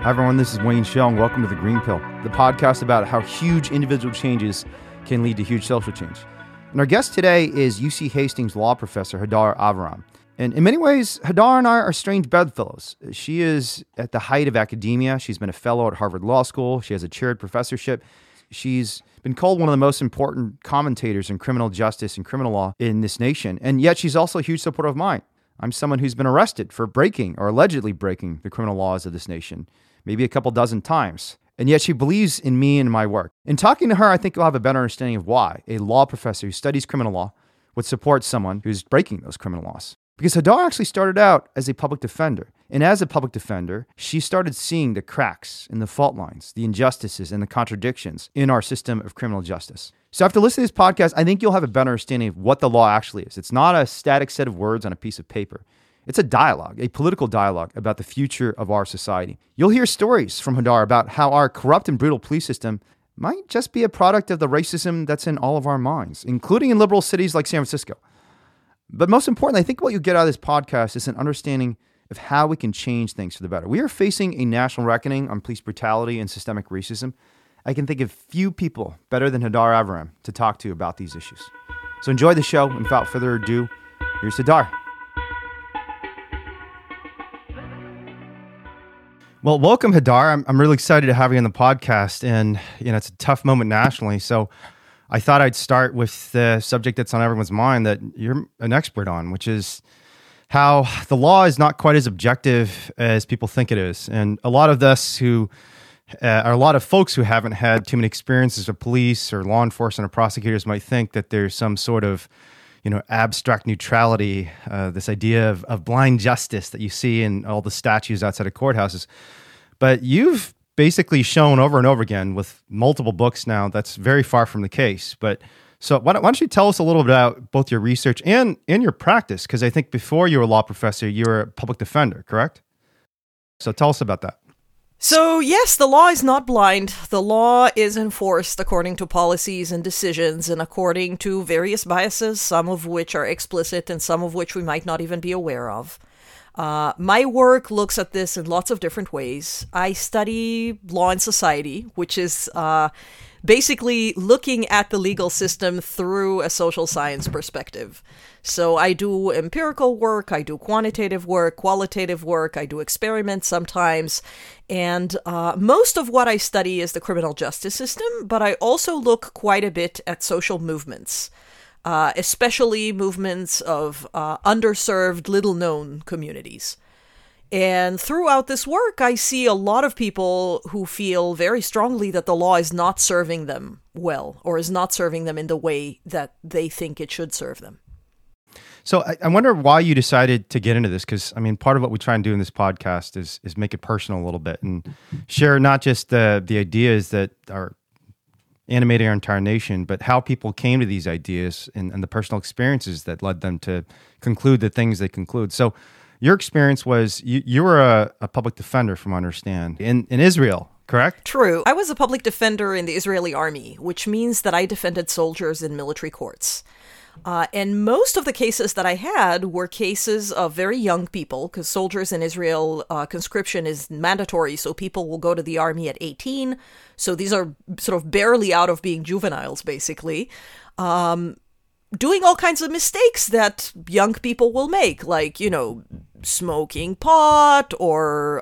Hi everyone, this is Wayne Shell and welcome to The Green Pill, the podcast about how huge individual changes can lead to huge social change. And our guest today is UC Hastings law professor Hadar Aviram. And in many ways, Hadar and I are strange bedfellows. She is at the height of academia. She's been a fellow at Harvard Law School. She has a chaired professorship. She's been called one of the most important commentators in criminal justice and criminal law in this nation. And yet she's also a huge supporter of mine. I'm someone who's been arrested for breaking or allegedly breaking the criminal laws of this nation, maybe a couple dozen times. And yet she believes in me and my work. In talking to her, I think you'll have a better understanding of why a law professor who studies criminal law would support someone who's breaking those criminal laws. Because Hadar actually started out as a public defender. And as a public defender, she started seeing the cracks and the fault lines, the injustices and the contradictions in our system of criminal justice. So after listening to this podcast, I think you'll have a better understanding of what the law actually is. It's not a static set of words on a piece of paper. It's a dialogue, a political dialogue about the future of our society. You'll hear stories from Hadar about how our corrupt and brutal police system might just be a product of the racism that's in all of our minds, including in liberal cities like San Francisco. But most importantly, I think what you get out of this podcast is an understanding of how we can change things for the better. We are facing a national reckoning on police brutality and systemic racism. I can think of few people better than Hadar Aviram to talk to about these issues. So enjoy the show. And without further ado, here's Hadar. Well, welcome, Hadar. I'm really excited to have you on the podcast. And, it's a tough moment nationally. So I thought I'd start with the subject that's on everyone's mind that you're an expert on, which is how the law is not quite as objective as people think it is. And a lot of us who are a lot of folks who haven't had too many experiences with police or law enforcement or prosecutors might think that there's some sort of, abstract neutrality, this idea of blind justice that you see in all the statues outside of courthouses. But you've basically shown over and over again with multiple books now that's very far from the case. But so why don't you tell us a little bit about both your research and your practice? Because I think before you were a law professor, you were a public defender, correct? So tell us about that. So yes, the law is not blind. The law is enforced according to policies and decisions and according to various biases, some of which are explicit and some of which we might not even be aware of. My work looks at this in lots of different ways. I study law and society, which is basically looking at the legal system through a social science perspective. So I do empirical work, I do quantitative work, qualitative work, I do experiments sometimes, and most of what I study is the criminal justice system, but I also look quite a bit at social movements. Especially movements of underserved, little-known communities. And throughout this work, I see a lot of people who feel very strongly that the law is not serving them well, or is not serving them in the way that they think it should serve them. So I wonder why you decided to get into this, because, part of what we try and do in this podcast is make it personal a little bit and share not just the ideas that are animating our entire nation, but how people came to these ideas and the personal experiences that led them to conclude the things they conclude. So your experience was you were a public defender, from what I understand, in Israel, correct? True. I was a public defender in the Israeli army, which means that I defended soldiers in military courts. And most of the cases that I had were cases of very young people, because soldiers in Israel, conscription is mandatory, so people will go to the army at 18. So these are sort of barely out of being juveniles, basically, doing all kinds of mistakes that young people will make, like, smoking pot or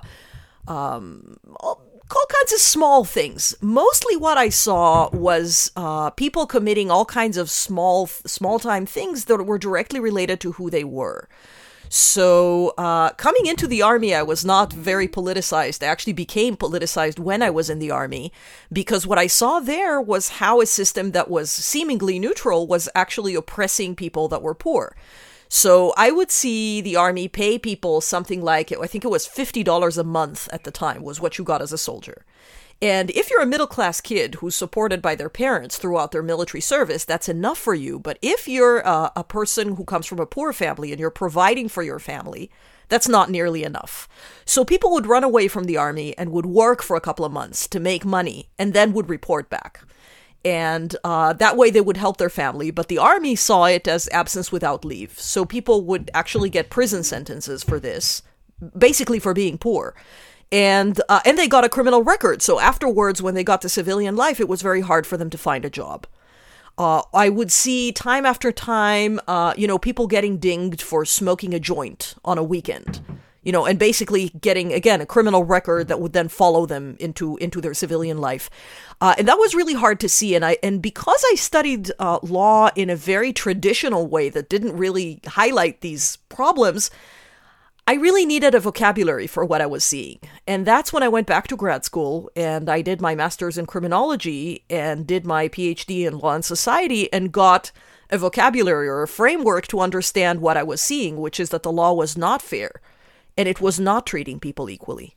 all kinds of small things. Mostly what I saw was people committing all kinds of small-time things that were directly related to who they were. So coming into the army, I was not very politicized. I actually became politicized when I was in the army, because what I saw there was how a system that was seemingly neutral was actually oppressing people that were poor. So I would see the army pay people something like, I think it was $50 a month at the time was what you got as a soldier. And if you're a middle-class kid who's supported by their parents throughout their military service, that's enough for you. But if you're a person who comes from a poor family and you're providing for your family, that's not nearly enough. So people would run away from the army and would work for a couple of months to make money and then would report back. And that way they would help their family. But the army saw it as absence without leave. So people would actually get prison sentences for this, basically for being poor. And they got a criminal record. So afterwards, when they got to civilian life, it was very hard for them to find a job. I would see time after time, people getting dinged for smoking a joint on a weekend, and basically getting, again, a criminal record that would then follow them into their civilian life. And that was really hard to see. And because I studied law in a very traditional way that didn't really highlight these problems, I really needed a vocabulary for what I was seeing. And that's when I went back to grad school and I did my master's in criminology and did my PhD in law and society and got a vocabulary or a framework to understand what I was seeing, which is that the law was not fair and it was not treating people equally.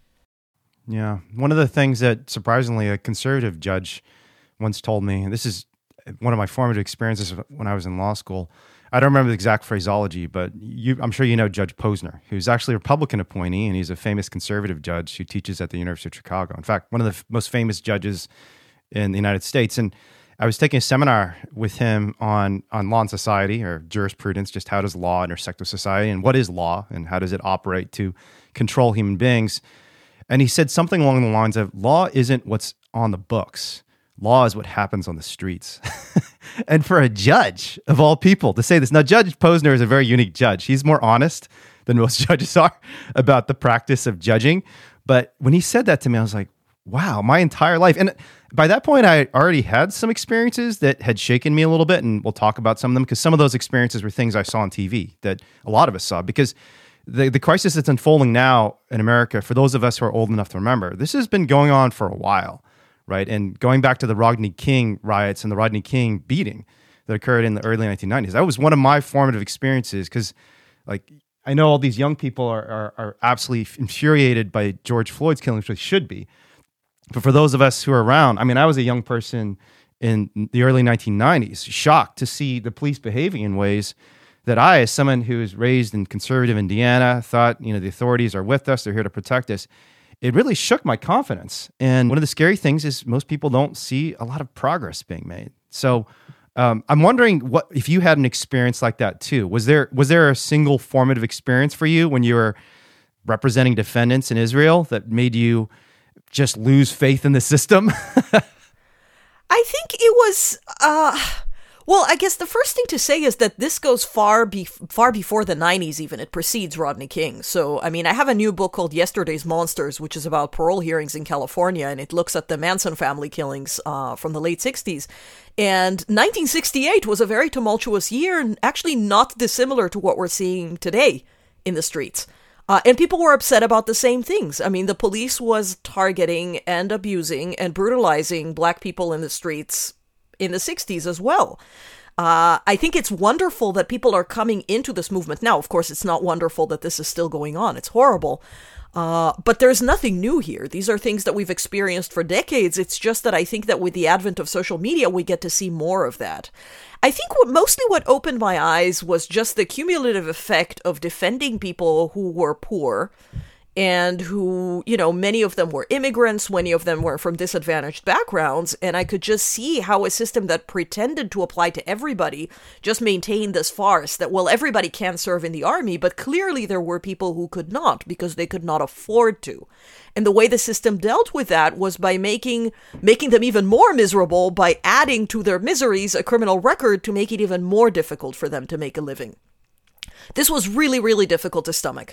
Yeah. One of the things that surprisingly a conservative judge once told me, and this is one of my formative experiences when I was in law school, I don't remember the exact phraseology, but I'm sure you know Judge Posner, who's actually a Republican appointee, and he's a famous conservative judge who teaches at the University of Chicago. In fact, one of the most famous judges in the United States. And I was taking a seminar with him on law and society, or jurisprudence, just how does law intersect with society, and what is law, and how does it operate to control human beings. And he said something along the lines of, law isn't what's on the books. Law is what happens on the streets. And for a judge, of all people, to say this. Now, Judge Posner is a very unique judge. He's more honest than most judges are about the practice of judging. But when he said that to me, I was like, wow, my entire life. And by that point, I already had some experiences that had shaken me a little bit. And we'll talk about some of them because some of those experiences were things I saw on TV that a lot of us saw. Because the crisis that's unfolding now in America, for those of us who are old enough to remember, this has been going on for a while. Right. And going back to the Rodney King riots and the Rodney King beating that occurred in the early 1990s, that was one of my formative experiences because, like, I know all these young people are absolutely infuriated by George Floyd's killing, which they should be. But for those of us who are around, I mean, I was a young person in the early 1990s, shocked to see the police behaving in ways that I, as someone who was raised in conservative Indiana, thought, the authorities are with us, they're here to protect us. It really shook my confidence. And one of the scary things is most people don't see a lot of progress being made. So I'm wondering what if you had an experience like that too. Was there a single formative experience for you when you were representing defendants in Israel that made you just lose faith in the system? I think it was... Well, I guess the first thing to say is that this goes far before the 90s even. It precedes Rodney King. So, I mean, I have a new book called Yesterday's Monsters, which is about parole hearings in California, and it looks at the Manson family killings from the late 60s. And 1968 was a very tumultuous year, and actually not dissimilar to what we're seeing today in the streets. And people were upset about the same things. I mean, the police was targeting and abusing and brutalizing Black people in the streets in the 60s as well. I think it's wonderful that people are coming into this movement now. Of course, it's not wonderful that this is still going on. It's horrible. But there's nothing new here. These are things that we've experienced for decades. It's just that I think that with the advent of social media, we get to see more of that. I think what opened my eyes was just the cumulative effect of defending people who were poor and who, many of them were immigrants, many of them were from disadvantaged backgrounds, and I could just see how a system that pretended to apply to everybody just maintained this farce that, well, everybody can serve in the army, but clearly there were people who could not because they could not afford to. And the way the system dealt with that was by making them even more miserable by adding to their miseries a criminal record to make it even more difficult for them to make a living. This was really, really difficult to stomach.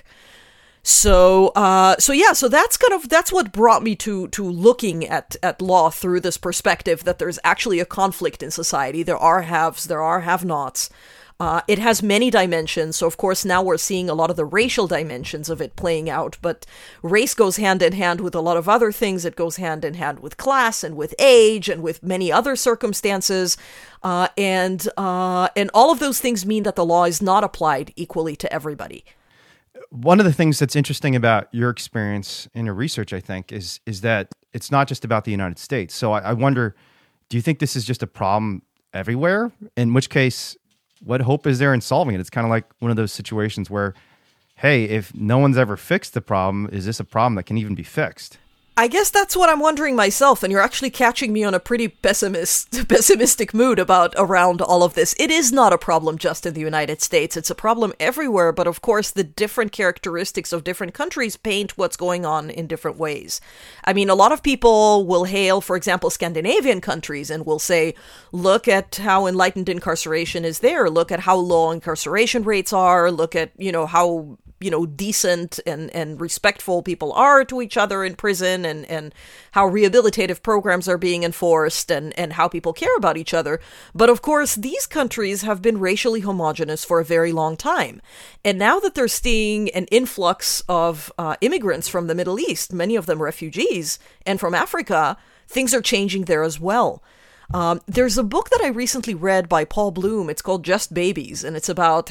So that's what brought me to looking at law through this perspective that there's actually a conflict in society. There are haves, there are have-nots. It has many dimensions. So of course now we're seeing a lot of the racial dimensions of it playing out, but race goes hand in hand with a lot of other things. It goes hand in hand with class and with age and with many other circumstances. And all of those things mean that the law is not applied equally to everybody. One of the things that's interesting about your experience in your research, I think, is that it's not just about the United States. So I wonder, do you think this is just a problem everywhere? In which case, what hope is there in solving it? It's kind of like one of those situations where, hey, if no one's ever fixed the problem, is this a problem that can even be fixed? I guess that's what I'm wondering myself, and you're actually catching me on a pretty pessimistic mood around all of this. It is not a problem just in the United States. It's a problem everywhere, but of course the different characteristics of different countries paint what's going on in different ways. I mean, a lot of people will hail, for example, Scandinavian countries and will say, look at how enlightened incarceration is there, look at how low incarceration rates are, look at, how decent and respectful people are to each other in prison, and how rehabilitative programs are being enforced, and how people care about each other. But of course, these countries have been racially homogenous for a very long time. And now that they're seeing an influx of immigrants from the Middle East, many of them refugees, and from Africa, things are changing there as well. There's a book that I recently read by Paul Bloom. It's called Just Babies, and it's about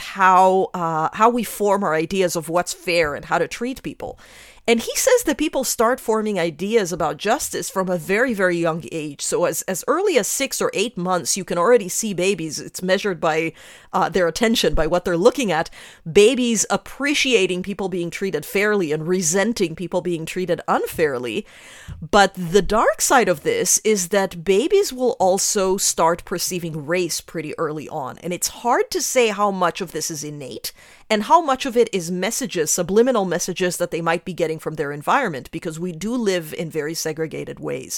how we form our ideas of what's fair and how to treat people. And he says that people start forming ideas about justice from a very, very young age. So as early as 6 or 8 months, you can already see babies. It's measured by their attention, by what they're looking at. Babies appreciating people being treated fairly and resenting people being treated unfairly. But the dark side of this is that babies will also start perceiving race pretty early on. And it's hard to say how much of this is innate and how much of it is messages, subliminal messages that they might be getting from their environment, because we do live in very segregated ways.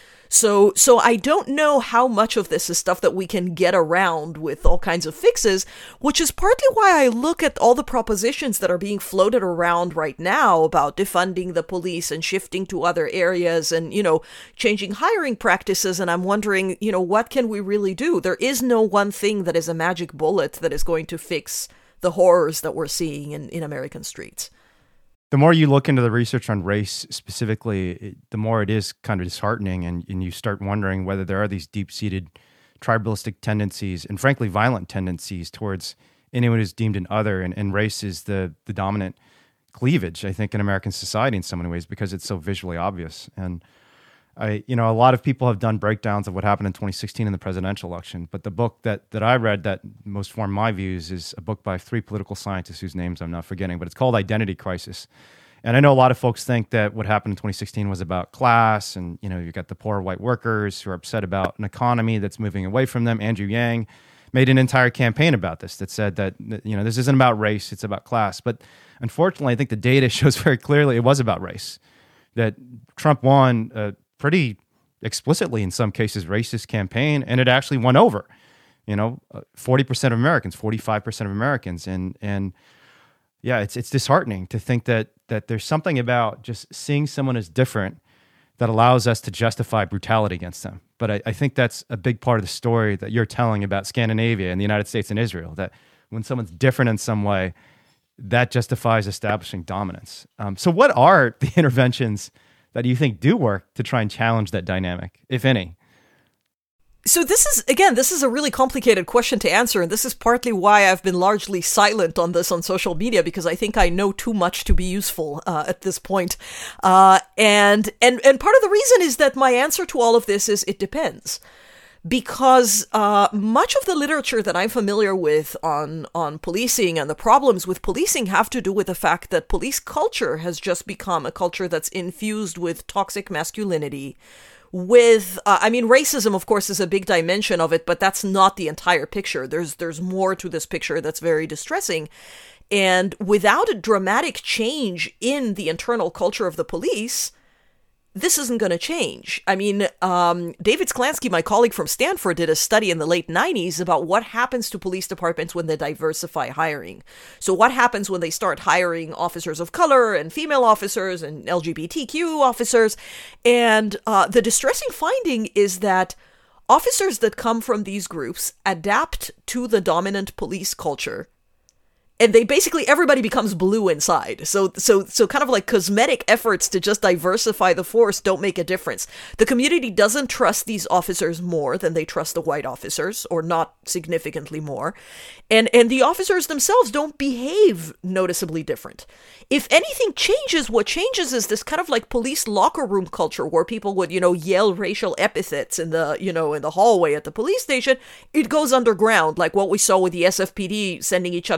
So I don't know how much of this is stuff that we can get around with all kinds of fixes, which is partly why I look at all the propositions that are being floated around right now about defunding the police and shifting to other areas and, changing hiring practices. And I'm wondering, what can we really do? There is no one thing that is a magic bullet that is going to fix the horrors that we're seeing in American streets. The more you look into the research on race specifically, the more it is kind of disheartening, and you start wondering whether there are these deep-seated tribalistic tendencies and frankly violent tendencies towards anyone who's deemed an other, and race is the dominant cleavage, I think, in American society in so many ways because it's so visually obvious. And a lot of people have done breakdowns of what happened in 2016 in the presidential election, but the book that I read that most formed my views is a book by 3 political scientists whose names I'm not forgetting, but it's called Identity Crisis. And I know a lot of folks think that what happened in 2016 was about class, and you've got the poor white workers who are upset about an economy that's moving away from them. Andrew Yang made an entire campaign about this that said that this isn't about race, it's about class. But unfortunately, I think the data shows very clearly it was about race, that Trump won pretty explicitly, in some cases, racist campaign, and it actually won over, 40% of Americans, 45% of Americans, and yeah, it's disheartening to think that there's something about just seeing someone as different that allows us to justify brutality against them. But I think that's a big part of the story that you're telling about Scandinavia and the United States and Israel, that when someone's different in some way, that justifies establishing dominance. So what are the interventions that you think do work to try and challenge that dynamic, if any? So this is a really complicated question to answer, and this is partly why I've been largely silent on this on social media, because I think I know too much to be useful at this point. And part of the reason is that my answer to all of this is it depends. Because much of the literature that I'm familiar with on policing and the problems with policing have to do with the fact that police culture has just become a culture that's infused with toxic masculinity, with, racism, of course, is a big dimension of it, but that's not the entire picture. There's more to this picture that's very distressing. And without a dramatic change in the internal culture of the police, this isn't going to change. David Sklansky, my colleague from Stanford, did a study in the late 90s about what happens to police departments when they diversify hiring. So what happens when they start hiring officers of color and female officers and LGBTQ officers? And the distressing finding is that officers that come from these groups adapt to the dominant police culture. And everybody becomes blue inside. So kind of like cosmetic efforts to just diversify the force don't make a difference. The community doesn't trust these officers more than they trust the white officers, or not significantly more. And the officers themselves don't behave noticeably different. If anything changes, what changes is this kind of like police locker room culture where people would, yell racial epithets in the hallway at the police station. It goes underground, like what we saw with the SFPD sending each other racist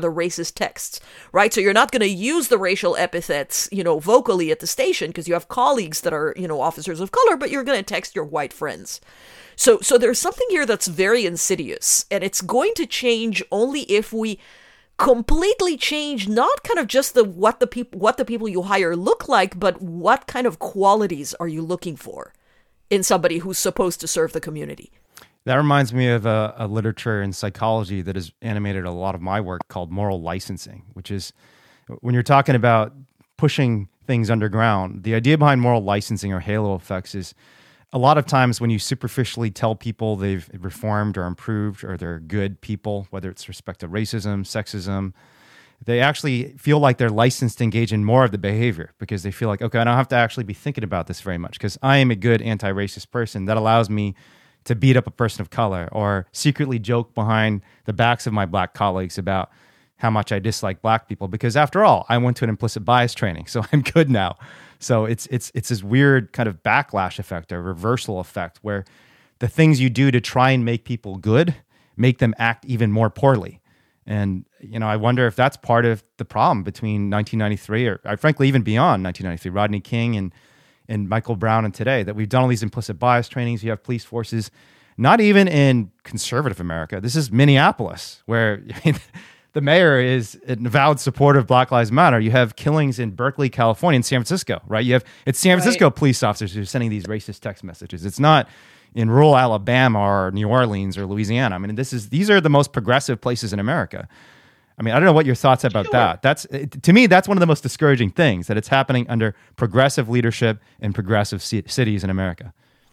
racist texts, right? So you're not going to use the racial epithets, vocally at the station because you have colleagues that are, officers of color, but you're going to text your white friends. So there's something here that's very insidious, and it's going to change only if we completely change not kind of just what the people you hire look like, but what kind of qualities are you looking for in somebody who's supposed to serve the community. That reminds me of a literature in psychology that has animated a lot of my work called moral licensing, which is when you're talking about pushing things underground, the idea behind moral licensing or halo effects is a lot of times when you superficially tell people they've reformed or improved or they're good people, whether it's respect to racism, sexism, they actually feel like they're licensed to engage in more of the behavior because they feel like, okay, I don't have to actually be thinking about this very much because I am a good anti-racist person. That allows me to beat up a person of color or secretly joke behind the backs of my black colleagues about how much I dislike black people because after all, I went to an implicit bias training, so I'm good now. So it's this weird kind of backlash effect or reversal effect where the things you do to try and make people good make them act even more poorly. And, I wonder if that's part of the problem between 1993 or frankly, even beyond 1993, Rodney King and Michael Brown and today, that we've done all these implicit bias trainings. You have police forces, not even in conservative America. This is Minneapolis, where the mayor is an avowed supporter of Black Lives Matter. You have killings in Berkeley, California, and San Francisco, right? It's San Francisco police officers who are sending these racist text messages. It's not in rural Alabama or New Orleans or Louisiana. I mean, these are the most progressive places in America. I mean, I don't know what your thoughts about that. To me, that's one of the most discouraging things, that it's happening under progressive leadership in progressive cities in America.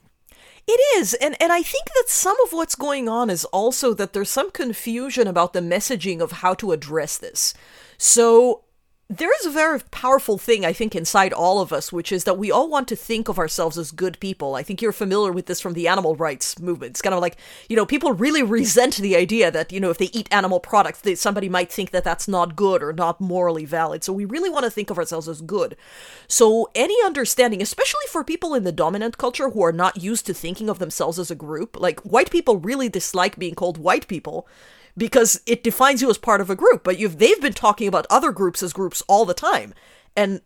It is, and I think that some of what's going on is also that there's some confusion about the messaging of how to address this. So there is a very powerful thing, I think, inside all of us, which is that we all want to think of ourselves as good people. I think you're familiar with this from the animal rights movement. It's kind of like, people really resent the idea that, if they eat animal products, somebody might think that that's not good or not morally valid. So we really want to think of ourselves as good. So any understanding, especially for people in the dominant culture who are not used to thinking of themselves as a group, like white people really dislike being called white people, because it defines you as part of a group, but they've been talking about other groups as groups all the time. And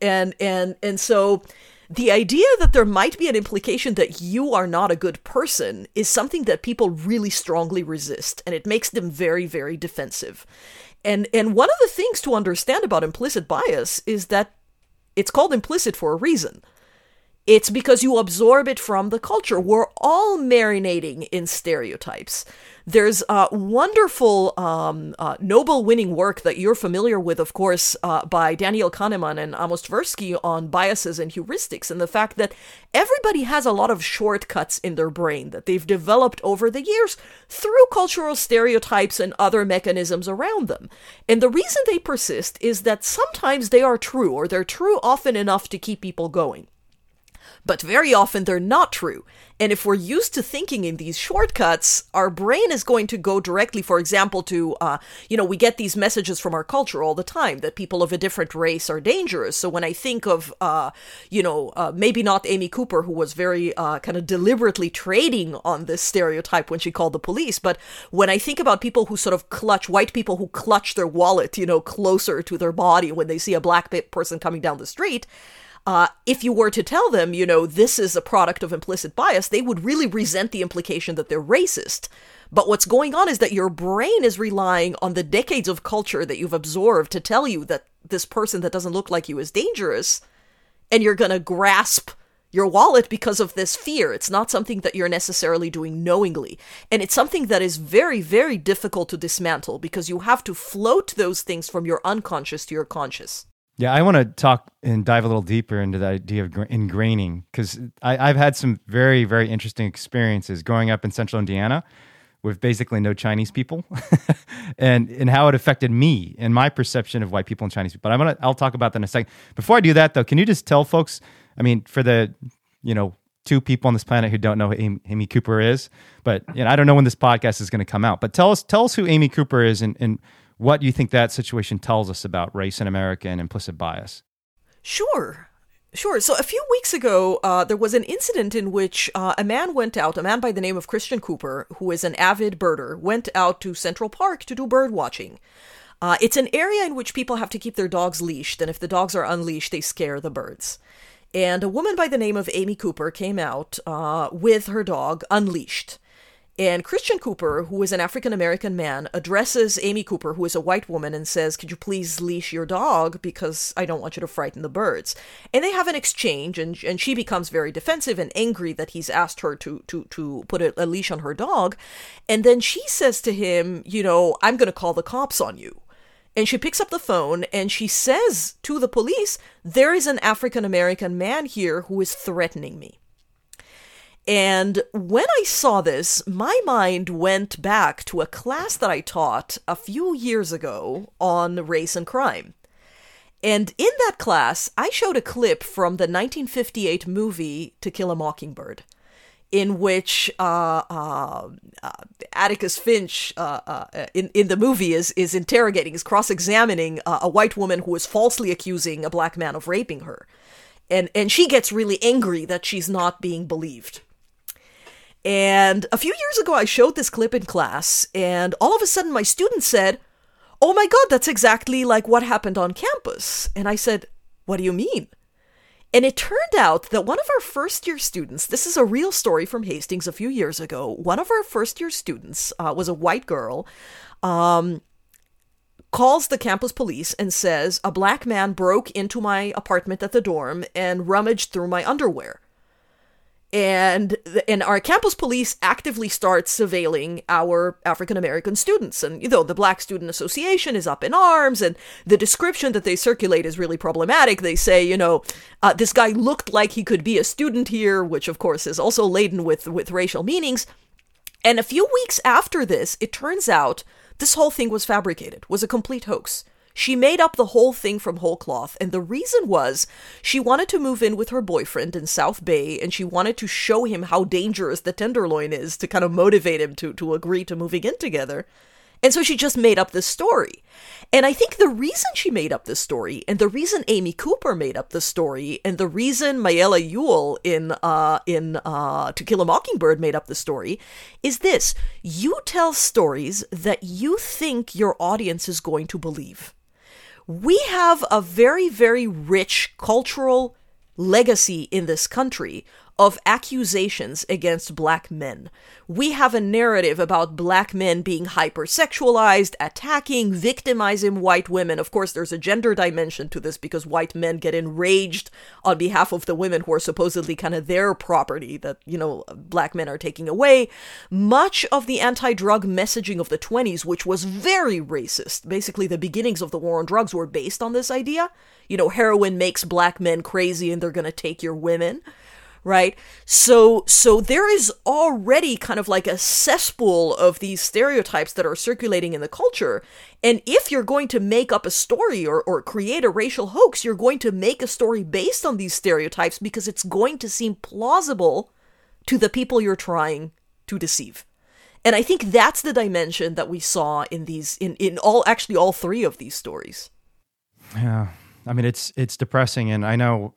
so the idea that there might be an implication that you are not a good person is something that people really strongly resist, and it makes them very, very defensive. And one of the things to understand about implicit bias is that it's called implicit for a reason. It's because you absorb it from the culture. We're all marinating in stereotypes. There's wonderful Nobel-winning work that you're familiar with, of course, by Daniel Kahneman and Amos Tversky on biases and heuristics, and the fact that everybody has a lot of shortcuts in their brain that they've developed over the years through cultural stereotypes and other mechanisms around them. And the reason they persist is that sometimes they are true, or they're true often enough to keep people going. But very often they're not true. And if we're used to thinking in these shortcuts, our brain is going to go directly, for example, to, we get these messages from our culture all the time that people of a different race are dangerous. So when I think of, maybe not Amy Cooper, who was very kind of deliberately trading on this stereotype when she called the police, but when I think about people who sort of white people who clutch their wallet, closer to their body when they see a black person coming down the street, if you were to tell them, this is a product of implicit bias, they would really resent the implication that they're racist. But what's going on is that your brain is relying on the decades of culture that you've absorbed to tell you that this person that doesn't look like you is dangerous, and you're going to grasp your wallet because of this fear. It's not something that you're necessarily doing knowingly. And it's something that is very, very difficult to dismantle because you have to float those things from your unconscious to your conscious. Yeah, I want to talk and dive a little deeper into the idea of ingraining, because I've had some very, very interesting experiences growing up in central Indiana with basically no Chinese people and how it affected me and my perception of white people and Chinese people. But I'll talk about that in a second. Before I do that, though, can you just tell folks, for the, two people on this planet who don't know who Amy Cooper is, but I don't know when this podcast is going to come out, but tell us who Amy Cooper is and what you think that situation tells us about race in America and implicit bias. Sure. So a few weeks ago, there was an incident in which a man by the name of Christian Cooper, who is an avid birder, went out to Central Park to do bird watching. It's an area in which people have to keep their dogs leashed, and if the dogs are unleashed, they scare the birds. And a woman by the name of Amy Cooper came out with her dog unleashed. And Christian Cooper, who is an African-American man, addresses Amy Cooper, who is a white woman, and says, could you please leash your dog because I don't want you to frighten the birds. And they have an exchange, and she becomes very defensive and angry that he's asked her to put a leash on her dog. And then she says to him, I'm going to call the cops on you. And she picks up the phone and she says to the police, there is an African-American man here who is threatening me. And when I saw this, my mind went back to a class that I taught a few years ago on race and crime. And in that class, I showed a clip from the 1958 movie To Kill a Mockingbird, in which Atticus Finch in the movie is interrogating, is cross-examining a white woman who is falsely accusing a black man of raping her. And she gets really angry that she's not being believed. And a few years ago, I showed this clip in class, and all of a sudden my student said, oh my God, that's exactly like what happened on campus. And I said, what do you mean? And it turned out that one of our first-year students, this is a real story from Hastings a few years ago, one of our first-year students was a white girl, calls the campus police and says, a black man broke into my apartment at the dorm and rummaged through my underwear. And our campus police actively start surveilling our African-American students. And, the Black Student Association is up in arms, and the description that they circulate is really problematic. They say, this guy looked like he could be a student here, which, of course, is also laden with racial meanings. And a few weeks after this, it turns out this whole thing was fabricated, was a complete hoax. She made up the whole thing from whole cloth, and the reason was she wanted to move in with her boyfriend in South Bay, and she wanted to show him how dangerous the Tenderloin is to kind of motivate him to agree to moving in together. And so she just made up this story. And I think the reason she made up this story, and the reason Amy Cooper made up the story, and the reason Mayela Ewell in To Kill a Mockingbird made up the story, is this. You tell stories that you think your audience is going to believe. We have a very, very rich cultural legacy in this country of accusations against black men. We have a narrative about black men being hypersexualized, attacking, victimizing white women. Of course, there's a gender dimension to this because white men get enraged on behalf of the women who are supposedly kind of their property that, black men are taking away. Much of the anti-drug messaging of the 1920s, which was very racist, basically the beginnings of the war on drugs were based on this idea. Heroin makes black men crazy and they're going to take your women. Right? So there is already kind of like a cesspool of these stereotypes that are circulating in the culture. And if you're going to make up a story or create a racial hoax, you're going to make a story based on these stereotypes because it's going to seem plausible to the people you're trying to deceive. And I think that's the dimension that we saw in these, in all three of these stories. Yeah. I mean, it's depressing. And I know,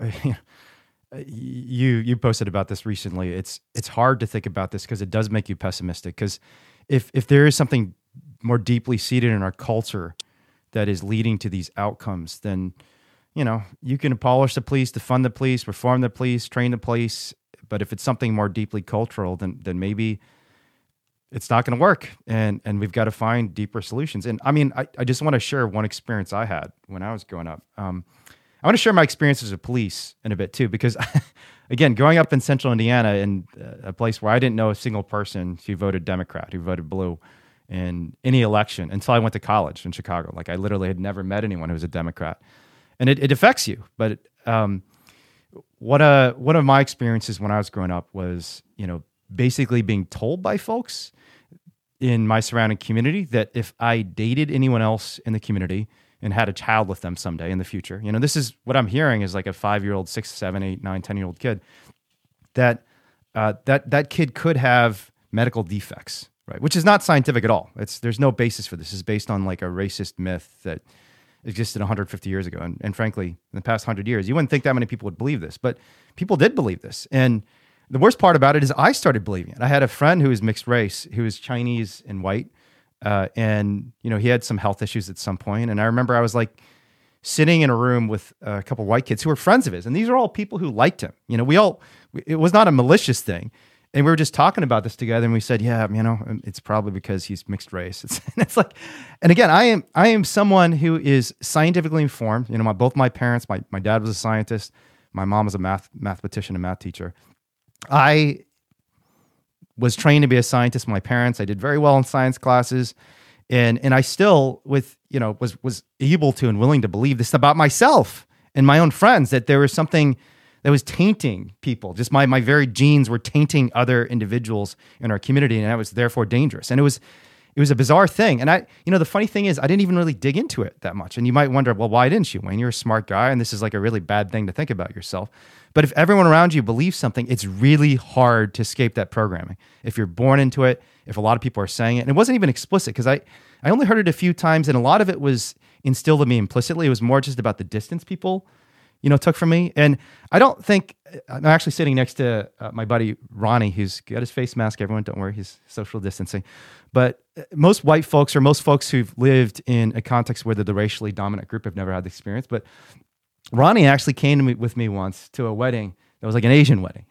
You posted about this recently. It's hard to think about this because it does make you pessimistic. Because if there is something more deeply seated in our culture that is leading to these outcomes, then you can abolish the police, defund the police, reform the police, train the police. But if it's something more deeply cultural, then maybe it's not going to work, and we've got to find deeper solutions. And I mean, I just want to share one experience I had when I was growing up. I want to share my experiences with police in a bit too, because again, growing up in central Indiana in a place where I didn't know a single person who voted Democrat, who voted blue in any election until I went to college in Chicago. Like I literally had never met anyone who was a Democrat, and it affects you. But one of my experiences when I was growing up was, basically being told by folks in my surrounding community that if I dated anyone else in the community and had a child with them someday in the future. This is what I'm hearing is like a 5-year-old, 6, 7, 8, 9, 10-year-old kid, that kid could have medical defects, right? Which is not scientific at all. There's no basis for this. It's based on like a racist myth that existed 150 years ago. And frankly, in the past 100 years, you wouldn't think that many people would believe this, but people did believe this. And the worst part about it is I started believing it. I had a friend who was mixed race, who was Chinese and white, And, he had some health issues at some point. And I remember I was like sitting in a room with a couple of white kids who were friends of his. And these are all people who liked him. It was not a malicious thing. And we were just talking about this together, and we said, yeah, it's probably because he's mixed race. It's like, and again, I am someone who is scientifically informed. Both my parents, my dad was a scientist, my mom was a mathematician and math teacher. I was trained to be a scientist. My parents, I did very well in science classes, and I still was able to and willing to believe this about myself and my own friends, that there was something that was tainting people. Just my very genes were tainting other individuals in our community, and that was therefore dangerous. And it was a bizarre thing. And the funny thing is, I didn't even really dig into it that much. And you might wonder, well, why didn't you, Wayne? You're a smart guy, and this is like a really bad thing to think about yourself. But if everyone around you believes something, it's really hard to escape that programming. If you're born into it, if a lot of people are saying it, and it wasn't even explicit, because I only heard it a few times, and a lot of it was instilled in me implicitly. It was more just about the distance people took from me. And I don't think, I'm actually sitting next to my buddy Ronnie, who's got his face mask. Everyone, don't worry, he's social distancing. But most white folks, or most folks who've lived in a context where they're the racially dominant group, have never had the experience. But Ronnie actually came with me once to a wedding that was like an Asian wedding.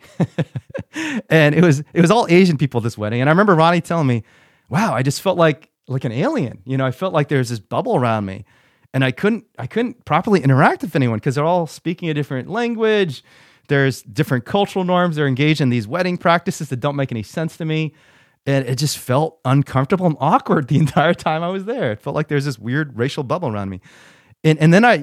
And it was all Asian people at this wedding. And I remember Ronnie telling me, wow, I just felt like an alien. I felt like there's this bubble around me. And I couldn't properly interact with anyone because they're all speaking a different language. There's different cultural norms. They're engaged in these wedding practices that don't make any sense to me. And it just felt uncomfortable and awkward the entire time I was there. It felt like there's this weird racial bubble around me. And then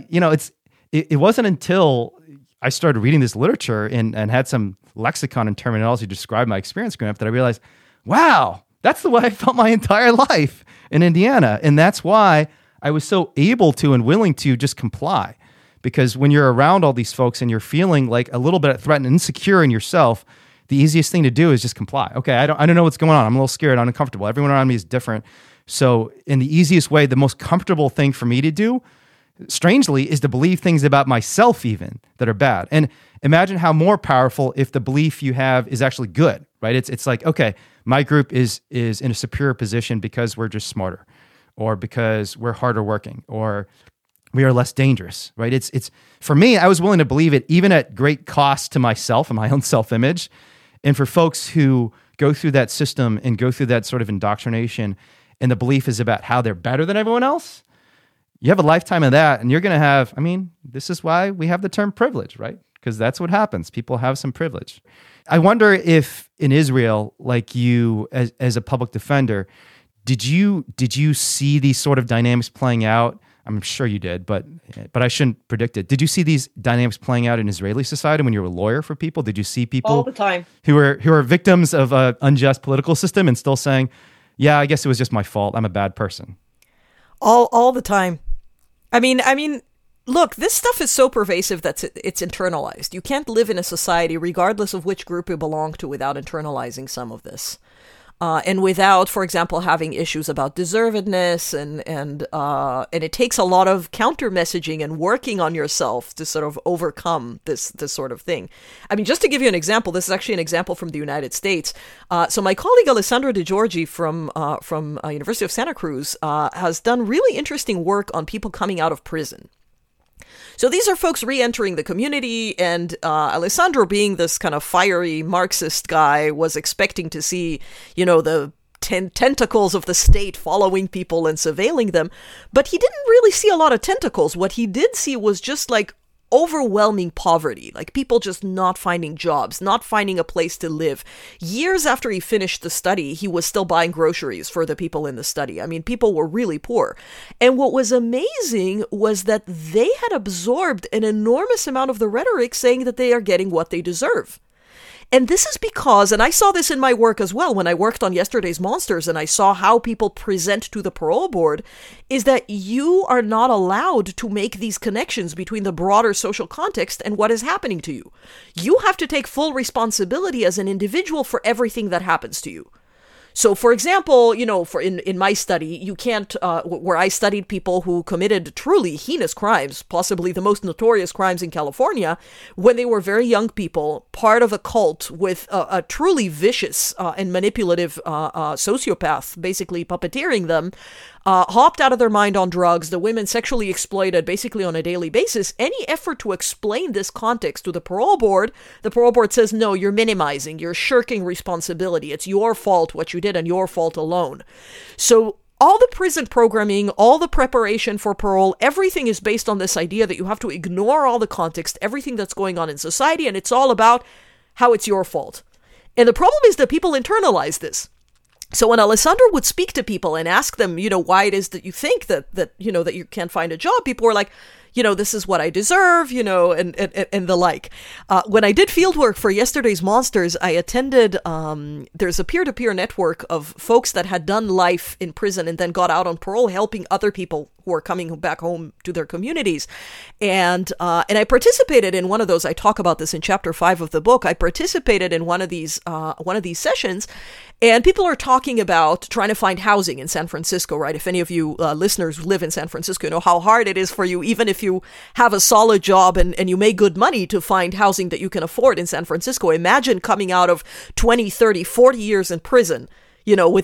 it wasn't until I started reading this literature and had some lexicon and terminology to describe my experience growing up that I realized, wow, that's the way I felt my entire life in Indiana. And that's why I was so able to and willing to just comply, because when you're around all these folks and you're feeling like a little bit threatened and insecure in yourself, the easiest thing to do is just comply. Okay, I don't know what's going on. I'm a little scared, I'm uncomfortable. Everyone around me is different. So in the easiest way, the most comfortable thing for me to do, strangely, is to believe things about myself even that are bad. And imagine how more powerful if the belief you have is actually good, right? It's like, okay, my group is in a superior position because we're just smarter, or because we're harder working, or we are less dangerous, right? It's for me, I was willing to believe it even at great cost to myself and my own self-image. And for folks who go through that system and go through that sort of indoctrination, and the belief is about how they're better than everyone else, you have a lifetime of that, and you're going to have, this is why we have the term privilege, right? Because that's what happens. People have some privilege. I wonder if in Israel, like you as a public defender, did you see these sort of dynamics playing out? I'm sure you did, but I shouldn't predict it. Did you see these dynamics playing out in Israeli society when you were a lawyer for people? Did you see people all the time who are victims of an unjust political system and still saying, yeah, I guess it was just my fault, I'm a bad person? All the time. I mean, look, this stuff is so pervasive that it's internalized. You can't live in a society, regardless of which group you belong to, without internalizing some of this. And without, for example, having issues about deservedness, and it takes a lot of counter messaging and working on yourself to sort of overcome this sort of thing. I mean, just to give you an example, this is actually an example from the United States. So my colleague Alessandro De Giorgi from University of Santa Cruz has done really interesting work on people coming out of prison. So these are folks re-entering the community, and Alessandro, being this kind of fiery Marxist guy, was expecting to see, the tentacles of the state following people and surveilling them, but he didn't really see a lot of tentacles. What he did see was just like overwhelming poverty, like people just not finding jobs, not finding a place to live. Years after he finished the study, he was still buying groceries for the people in the study. I mean, people were really poor. And what was amazing was that they had absorbed an enormous amount of the rhetoric saying that they are getting what they deserve. And this is because, and I saw this in my work as well when I worked on Yesterday's Monsters, and I saw how people present to the parole board, is that you are not allowed to make these connections between the broader social context and what is happening to you. You have to take full responsibility as an individual for everything that happens to you. So, for example, in my study, you can't, where I studied people who committed truly heinous crimes, possibly the most notorious crimes in California, when they were very young people, part of a cult with a truly vicious and manipulative sociopath, basically puppeteering them, hopped out of their mind on drugs, the women sexually exploited basically on a daily basis. Any effort to explain this context to the parole board says, no, you're minimizing, you're shirking responsibility. It's your fault what you did and your fault alone. So all the prison programming, all the preparation for parole, everything is based on this idea that you have to ignore all the context, everything that's going on in society, and it's all about how it's your fault. And the problem is that people internalize this. So when Alessandra would speak to people and ask them, why it is that you think that you can't find a job, people were like, this is what I deserve, and the like. When I did field work for Yesterday's Monsters, I attended, there's a peer-to-peer network of folks that had done life in prison and then got out on parole, helping other people who are coming back home to their communities. And I participated in one of those. I talk about this in chapter 5 of the book. I participated in one of these sessions, and people are talking about trying to find housing in San Francisco, right? If any of you listeners live in San Francisco, you know how hard it is for you, even if you have a solid job and you make good money, to find housing that you can afford in San Francisco. Imagine coming out of 20, 30, 40 years in prison, with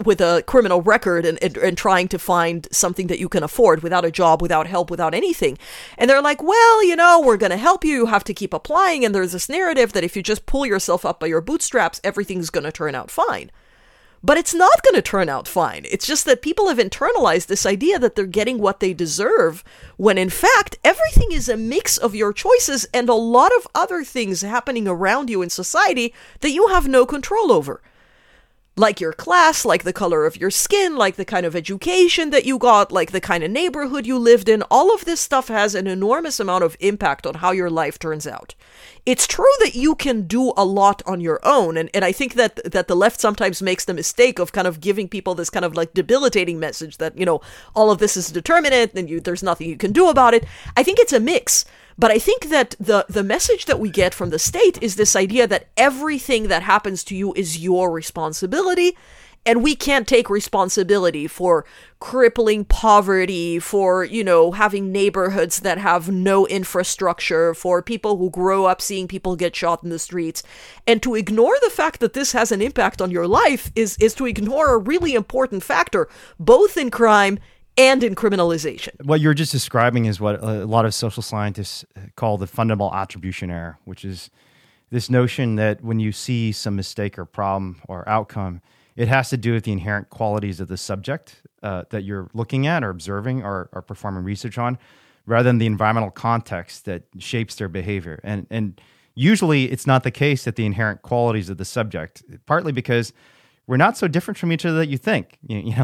a criminal record and trying to find something that you can afford without a job, without help, without anything. And they're like, well, we're going to help you. You have to keep applying. And there's this narrative that if you just pull yourself up by your bootstraps, everything's going to turn out fine. But it's not going to turn out fine. It's just that people have internalized this idea that they're getting what they deserve, when in fact, everything is a mix of your choices and a lot of other things happening around you in society that you have no control over. Like your class, like the color of your skin, like the kind of education that you got, like the kind of neighborhood you lived in. All of this stuff has an enormous amount of impact on how your life turns out. It's true that you can do a lot on your own, and I think that the left sometimes makes the mistake of kind of giving people this kind of like debilitating message that, all of this is determinate and there's nothing you can do about it. I think it's a mix. But I think that the message that we get from the state is this idea that everything that happens to you is your responsibility, and we can't take responsibility for crippling poverty, for, having neighborhoods that have no infrastructure, for people who grow up seeing people get shot in the streets. And to ignore the fact that this has an impact on your life is to ignore a really important factor, both in crime and in criminalization. What you're just describing is what a lot of social scientists call the fundamental attribution error, which is this notion that when you see some mistake or problem or outcome, it has to do with the inherent qualities of the subject that you're looking at or observing or performing research on, rather than the environmental context that shapes their behavior. And usually it's not the case that the inherent qualities of the subject, partly because we're not so different from each other that you think.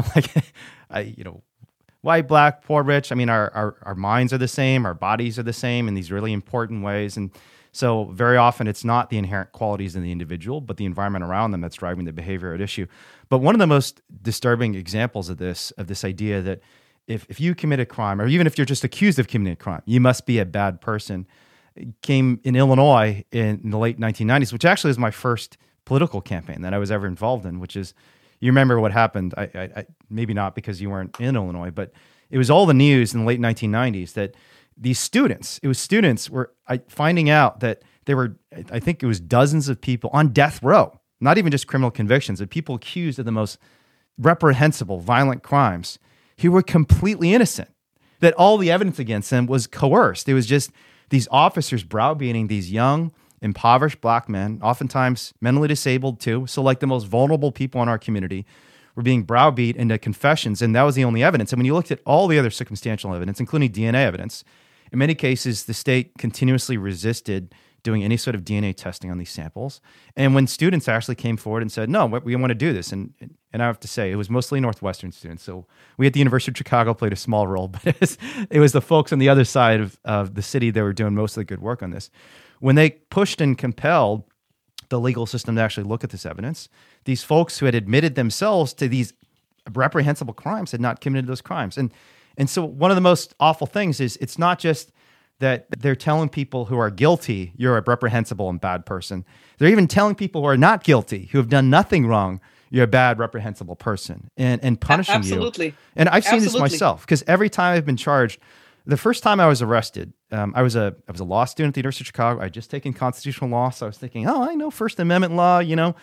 White, black, poor, rich. I mean, our minds are the same, our bodies are the same in these really important ways. And so very often it's not the inherent qualities in the individual, but the environment around them that's driving the behavior at issue. But one of the most disturbing examples of this idea that if you commit a crime, or even if you're just accused of committing a crime, you must be a bad person, came in Illinois in the late 1990s, which actually was my first political campaign that I was ever involved in, which is, you remember what happened. I maybe not because you weren't in Illinois, but it was all the news in the late 1990s that these students were finding out that there were, I think it was dozens of people on death row, not even just criminal convictions, but people accused of the most reprehensible, violent crimes who were completely innocent, that all the evidence against them was coerced. It was just these officers browbeating these young, impoverished black men, oftentimes mentally disabled too, so like the most vulnerable people in our community, were being browbeat into confessions, and that was the only evidence. And when you looked at all the other circumstantial evidence, including DNA evidence, in many cases, the state continuously resisted doing any sort of DNA testing on these samples. And when students actually came forward and said, no, we want to do this, and I have to say, it was mostly Northwestern students. So we at the University of Chicago played a small role, but it was the folks on the other side of the city that were doing most of the good work on this. When they pushed and compelled the legal system to actually look at this evidence, these folks who had admitted themselves to these reprehensible crimes had not committed those crimes. And so one of the most awful things is it's not just that they're telling people who are guilty, you're a reprehensible and bad person. They're even telling people who are not guilty, who have done nothing wrong, you're a bad, reprehensible person, and punishing Absolutely. you. And I've seen this Absolutely. myself, because every time I've been charged, the first time I was arrested, I was a law student at the University of Chicago. I had just taken constitutional law, so I was thinking, oh, I know First Amendment law. You know,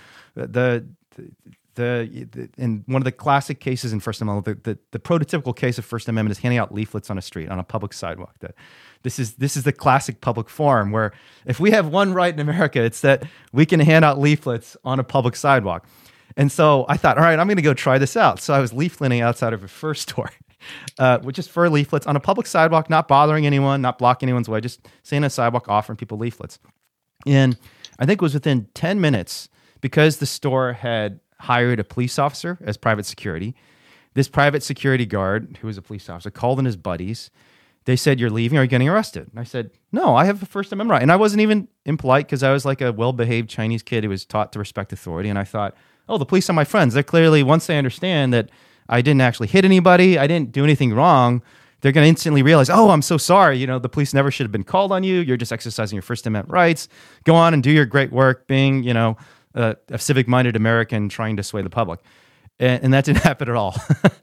in one of the classic cases in First Amendment, the prototypical case of First Amendment is handing out leaflets on a street, on a public sidewalk. This is the classic public forum where if we have one right in America, it's that we can hand out leaflets on a public sidewalk. And so I thought, all right, I'm going to go try this out. So I was leafleting outside of a fur store, which is fur leaflets on a public sidewalk, not bothering anyone, not blocking anyone's way, just sitting on a sidewalk offering people leaflets. And I think it was within 10 minutes, because the store had hired a police officer as private security. This private security guard, who was a police officer, called in his buddies. They said, you're leaving, or are you getting arrested? And I said, no, I have a First Amendment right. And I wasn't even impolite, because I was like a well-behaved Chinese kid who was taught to respect authority. And I thought, oh, the police are my friends. They're clearly, once they understand that I didn't actually hit anybody, I didn't do anything wrong, they're going to instantly realize, oh, I'm so sorry. You know, the police never should have been called on you. You're just exercising your First Amendment rights. Go on and do your great work being, you know, a civic-minded American trying to sway the public. And that didn't happen at all.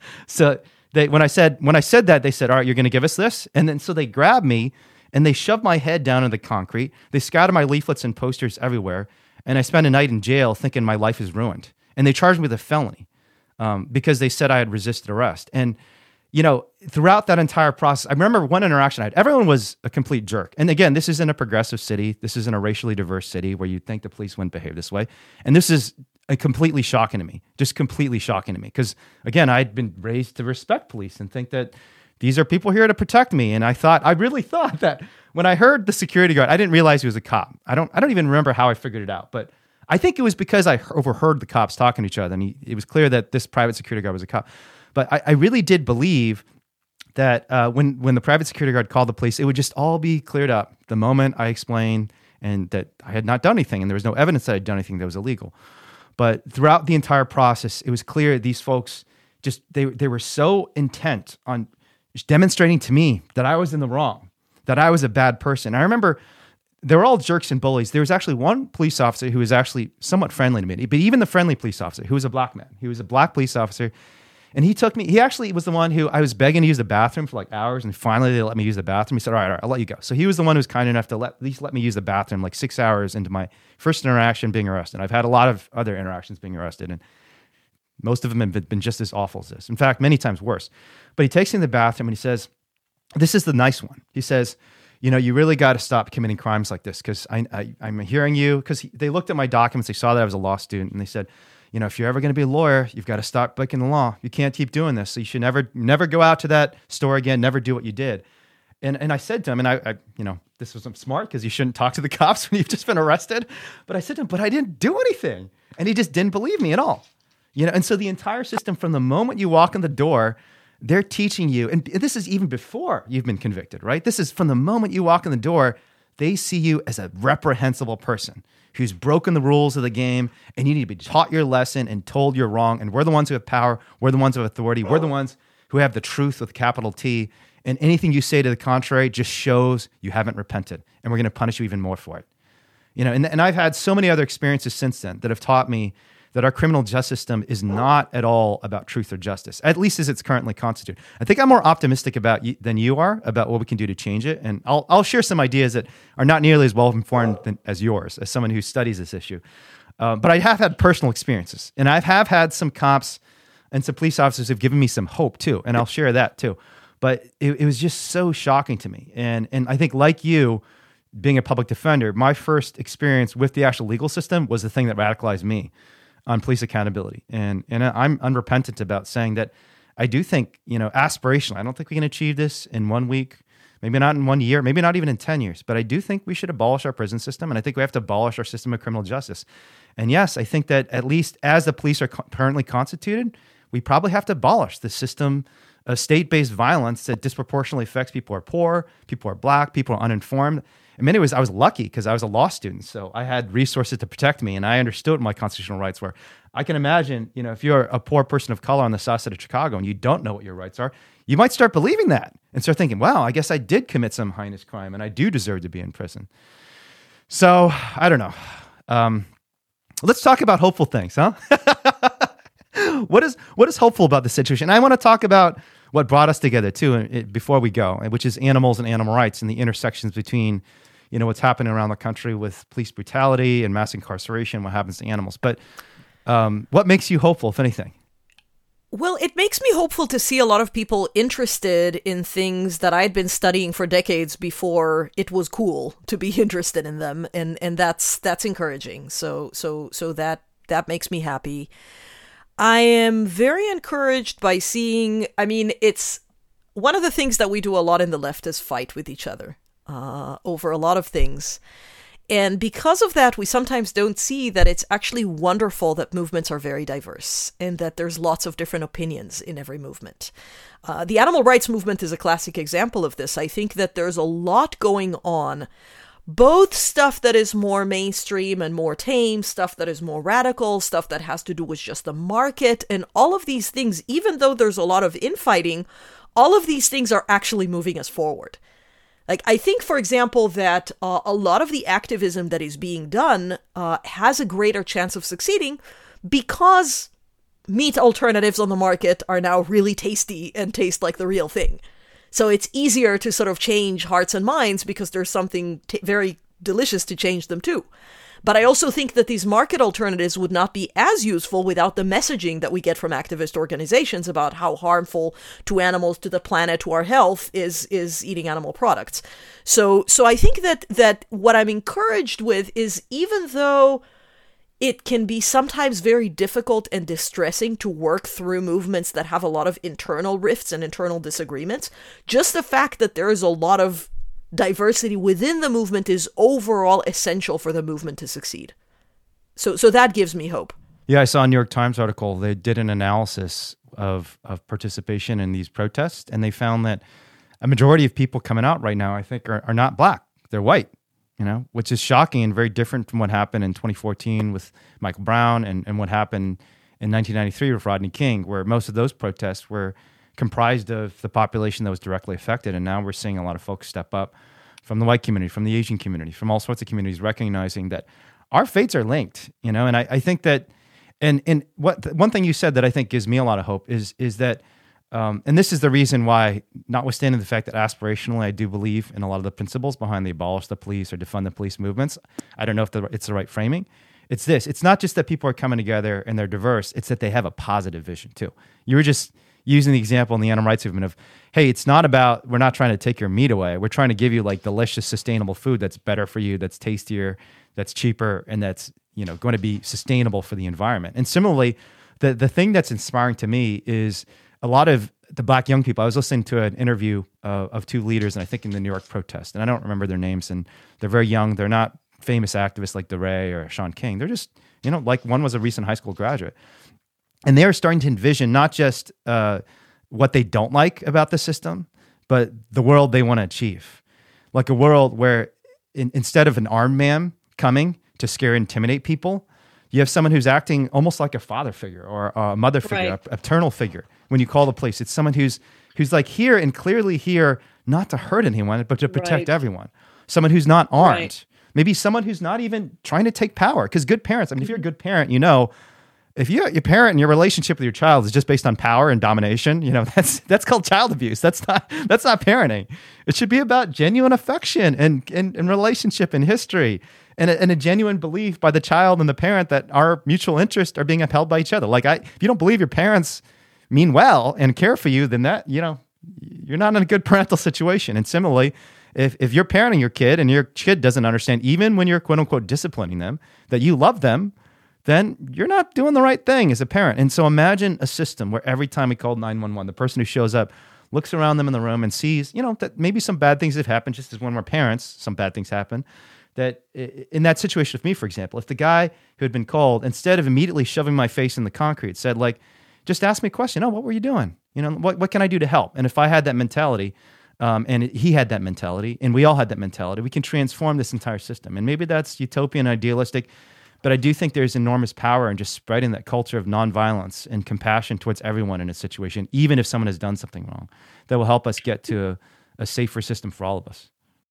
So when I said that, they said, all right, you're going to give us this? And then so they grabbed me and they shoved my head down in the concrete. They scattered my leaflets and posters everywhere. And I spent a night in jail thinking my life is ruined. And they charged me with a felony because they said I had resisted arrest. And, you know, throughout that entire process, I remember one interaction I had. Everyone was a complete jerk. And again, this isn't a progressive city. This isn't a racially diverse city where you'd think the police wouldn't behave this way. And this is completely shocking to me, just completely shocking to me. Because again, I'd been raised to respect police and think that these are people here to protect me. And I really thought that when I heard the security guard, I didn't realize he was a cop. I don't even remember how I figured it out, but I think it was because I overheard the cops talking to each other. And it was clear that this private security guard was a cop. But I really did believe that when the private security guard called the police, it would just all be cleared up the moment I explained and that I had not done anything and there was no evidence that I'd done anything that was illegal. But throughout the entire process, it was clear these folks they were so intent on just demonstrating to me that I was in the wrong, that I was a bad person. I remember they were all jerks and bullies. There was actually one police officer who was actually somewhat friendly to me, but even the friendly police officer, who was a black man, he was a black police officer. And he took me, he actually was the one who I was begging to use the bathroom for like hours. And finally they let me use the bathroom. He said, all right, I'll let you go. So he was the one who was kind enough to at least let me use the bathroom like 6 hours into my first interaction being arrested. I've had a lot of other interactions being arrested, and most of them have been just as awful as this. In fact, many times worse. But he takes me in the bathroom and he says, this is the nice one. He says, you know, you really got to stop committing crimes like this, because I'm hearing you, because they looked at my documents, they saw that I was a law student, and they said, you know, if you're ever going to be a lawyer, you've got to stop breaking the law. You can't keep doing this. So you should never go out to that store again, never do what you did. And I said to him, and I you know, this was smart because you shouldn't talk to the cops when you've just been arrested. But I said to him, but I didn't do anything. And he just didn't believe me at all. You know, and so the entire system, from the moment you walk in the door, they're teaching you, and this is even before you've been convicted, right? This is from the moment you walk in the door, they see you as a reprehensible person who's broken the rules of the game, and you need to be taught your lesson and told you're wrong. And we're the ones who have power. We're the ones who have authority. We're the ones who have the truth with a capital T. And anything you say to the contrary just shows you haven't repented, and we're going to punish you even more for it. You know, and I've had so many other experiences since then that have taught me that our criminal justice system is not at all about truth or justice, at least as it's currently constituted. I think I'm more optimistic than you are about what we can do to change it. And I'll share some ideas that are not nearly as well-informed as yours, as someone who studies this issue. But I have had personal experiences, and I have had some cops and some police officers who've given me some hope too, and I'll share that too. But it was just so shocking to me. And I think, like you, being a public defender, my first experience with the actual legal system was the thing that radicalized me on police accountability. And I'm unrepentant about saying that I do think, you know, aspirationally, I don't think we can achieve this in 1 week, maybe not in 1 year, maybe not even in 10 years, but I do think we should abolish our prison system. And I think we have to abolish our system of criminal justice. And yes, I think that at least as the police are currently constituted, we probably have to abolish the system of state-based violence that disproportionately affects people who are poor, people who are black, people who are uninformed. In many ways, I was lucky because I was a law student, so I had resources to protect me, and I understood what my constitutional rights were. I can imagine, you know, if you're a poor person of color on the south side of Chicago and you don't know what your rights are, you might start believing that and start thinking, wow, I guess I did commit some heinous crime and I do deserve to be in prison. So, I don't know. Let's talk about hopeful things, huh? what is hopeful about the situation? I want to talk about what brought us together too, before we go, which is animals and animal rights and the intersections between, what's happening around the country with police brutality and mass incarceration, what happens to animals. But what makes you hopeful, if anything? Well, it makes me hopeful to see a lot of people interested in things that I'd been studying for decades before it was cool to be interested in them, and that's encouraging. So that makes me happy. I am very encouraged by seeing, it's one of the things that we do a lot in the left is fight with each other over a lot of things. And because of that, we sometimes don't see that it's actually wonderful that movements are very diverse and that there's lots of different opinions in every movement. The animal rights movement is a classic example of this. I think that there's a lot going on, both stuff that is more mainstream and more tame, stuff that is more radical, stuff that has to do with just the market, and all of these things, even though there's a lot of infighting, all of these things are actually moving us forward. Like, I think, for example, that a lot of the activism that is being done has a greater chance of succeeding because meat alternatives on the market are now really tasty and taste like the real thing. So it's easier to sort of change hearts and minds because there's something very delicious to change them to. But I also think that these market alternatives would not be as useful without the messaging that we get from activist organizations about how harmful to animals, to the planet, to our health is eating animal products. So I think that what I'm encouraged with is, even though it can be sometimes very difficult and distressing to work through movements that have a lot of internal rifts and internal disagreements, just the fact that there is a lot of diversity within the movement is overall essential for the movement to succeed. So that gives me hope. Yeah, I saw a New York Times article. They did an analysis of participation in these protests, and they found that a majority of people coming out right now, I think, are not black. They're white, which is shocking and very different from what happened in 2014 with Michael Brown and what happened in 1993 with Rodney King, where most of those protests were comprised of the population that was directly affected. And now we're seeing a lot of folks step up from the white community, from the Asian community, from all sorts of communities, recognizing that our fates are linked, And I think that, and one thing you said that I think gives me a lot of hope is that, and this is the reason why, notwithstanding the fact that aspirationally I do believe in a lot of the principles behind the abolish the police or defund the police movements, I don't know if it's the right framing. It's this. It's not just that people are coming together and they're diverse. It's that they have a positive vision too. You were just using the example in the animal rights movement of, hey, it's not about, we're not trying to take your meat away. We're trying to give you like delicious, sustainable food that's better for you, that's tastier, that's cheaper, and that's, going to be sustainable for the environment. And similarly, the thing that's inspiring to me is a lot of the black young people. I was listening to an interview of two leaders, and I think in the New York protest, and I don't remember their names, and they're very young. They're not famous activists like DeRay or Sean King. They're just, like one was a recent high school graduate. And they are starting to envision not just what they don't like about the system, but the world they want to achieve. Like a world where instead of an armed man coming to scare and intimidate people, you have someone who's acting almost like a father figure or a mother figure, right, a paternal figure. When you call the police, it's someone who's like here and clearly here not to hurt anyone, but to protect everyone. Someone who's not armed. Right. Maybe someone who's not even trying to take power. Because good parents, if you're a good parent, if your parent and your relationship with your child is just based on power and domination, that's called child abuse. That's not parenting. It should be about genuine affection and relationship and history and a genuine belief by the child and the parent that our mutual interests are being upheld by each other. Like if you don't believe your parents mean well and care for you, then that you're not in a good parental situation. And similarly, if you're parenting your kid and your kid doesn't understand, even when you're quote unquote disciplining them, that you love them, then you're not doing the right thing as a parent. And so imagine a system where every time we call 911, the person who shows up looks around them in the room and sees, that maybe some bad things have happened, just as when we're parents, some bad things happen. That in that situation with me, for example, if the guy who had been called, instead of immediately shoving my face in the concrete, said like, just ask me a question. Oh, what were you doing? What can I do to help? And if I had that mentality, and he had that mentality, and we all had that mentality, we can transform this entire system. And maybe that's utopian, idealistic, but I do think there's enormous power in just spreading that culture of nonviolence and compassion towards everyone in a situation, even if someone has done something wrong, that will help us get to a safer system for all of us.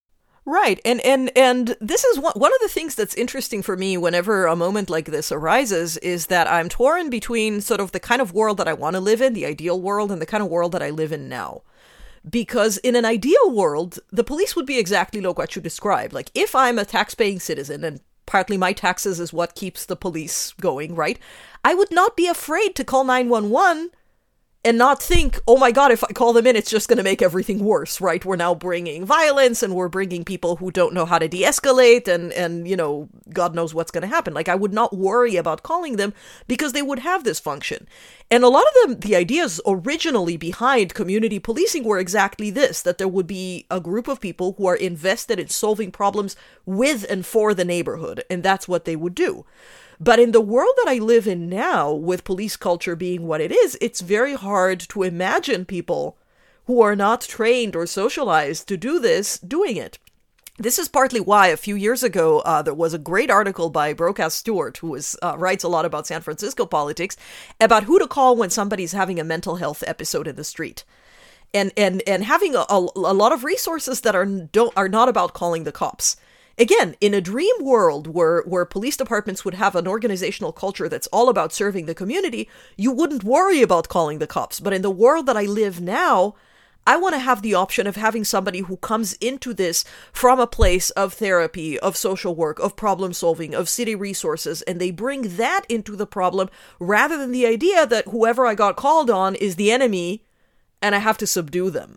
Right. And this is one of the things that's interesting for me whenever a moment like this arises is that I'm torn between sort of the kind of world that I want to live in, the ideal world, and the kind of world that I live in now. Because in an ideal world, the police would be exactly like what you described. Like, if I'm a tax-paying citizen, and partly my taxes is what keeps the police going, right? I would not be afraid to call 911 and not think, oh my God, if I call them in, it's just going to make everything worse, right? We're now bringing violence and we're bringing people who don't know how to de-escalate and you know, God knows what's going to happen. Like, I would not worry about calling them because they would have this function. And a lot of the ideas originally behind community policing were exactly this, that there would be a group of people who are invested in solving problems with and for the neighborhood, and that's what they would do. But in the world that I live in now, with police culture being what it is, it's very hard to imagine people who are not trained or socialized to do this, doing it. This is partly why a few years ago, there was a great article by Broadcast Stewart, who writes a lot about San Francisco politics, about who to call when somebody's having a mental health episode in the street. And having a lot of resources that are not about calling the cops. Again, in a dream world where police departments would have an organizational culture that's all about serving the community, you wouldn't worry about calling the cops. But in the world that I live now, I want to have the option of having somebody who comes into this from a place of therapy, of social work, of problem solving, of city resources, and they bring that into the problem rather than the idea that whoever I got called on is the enemy and I have to subdue them.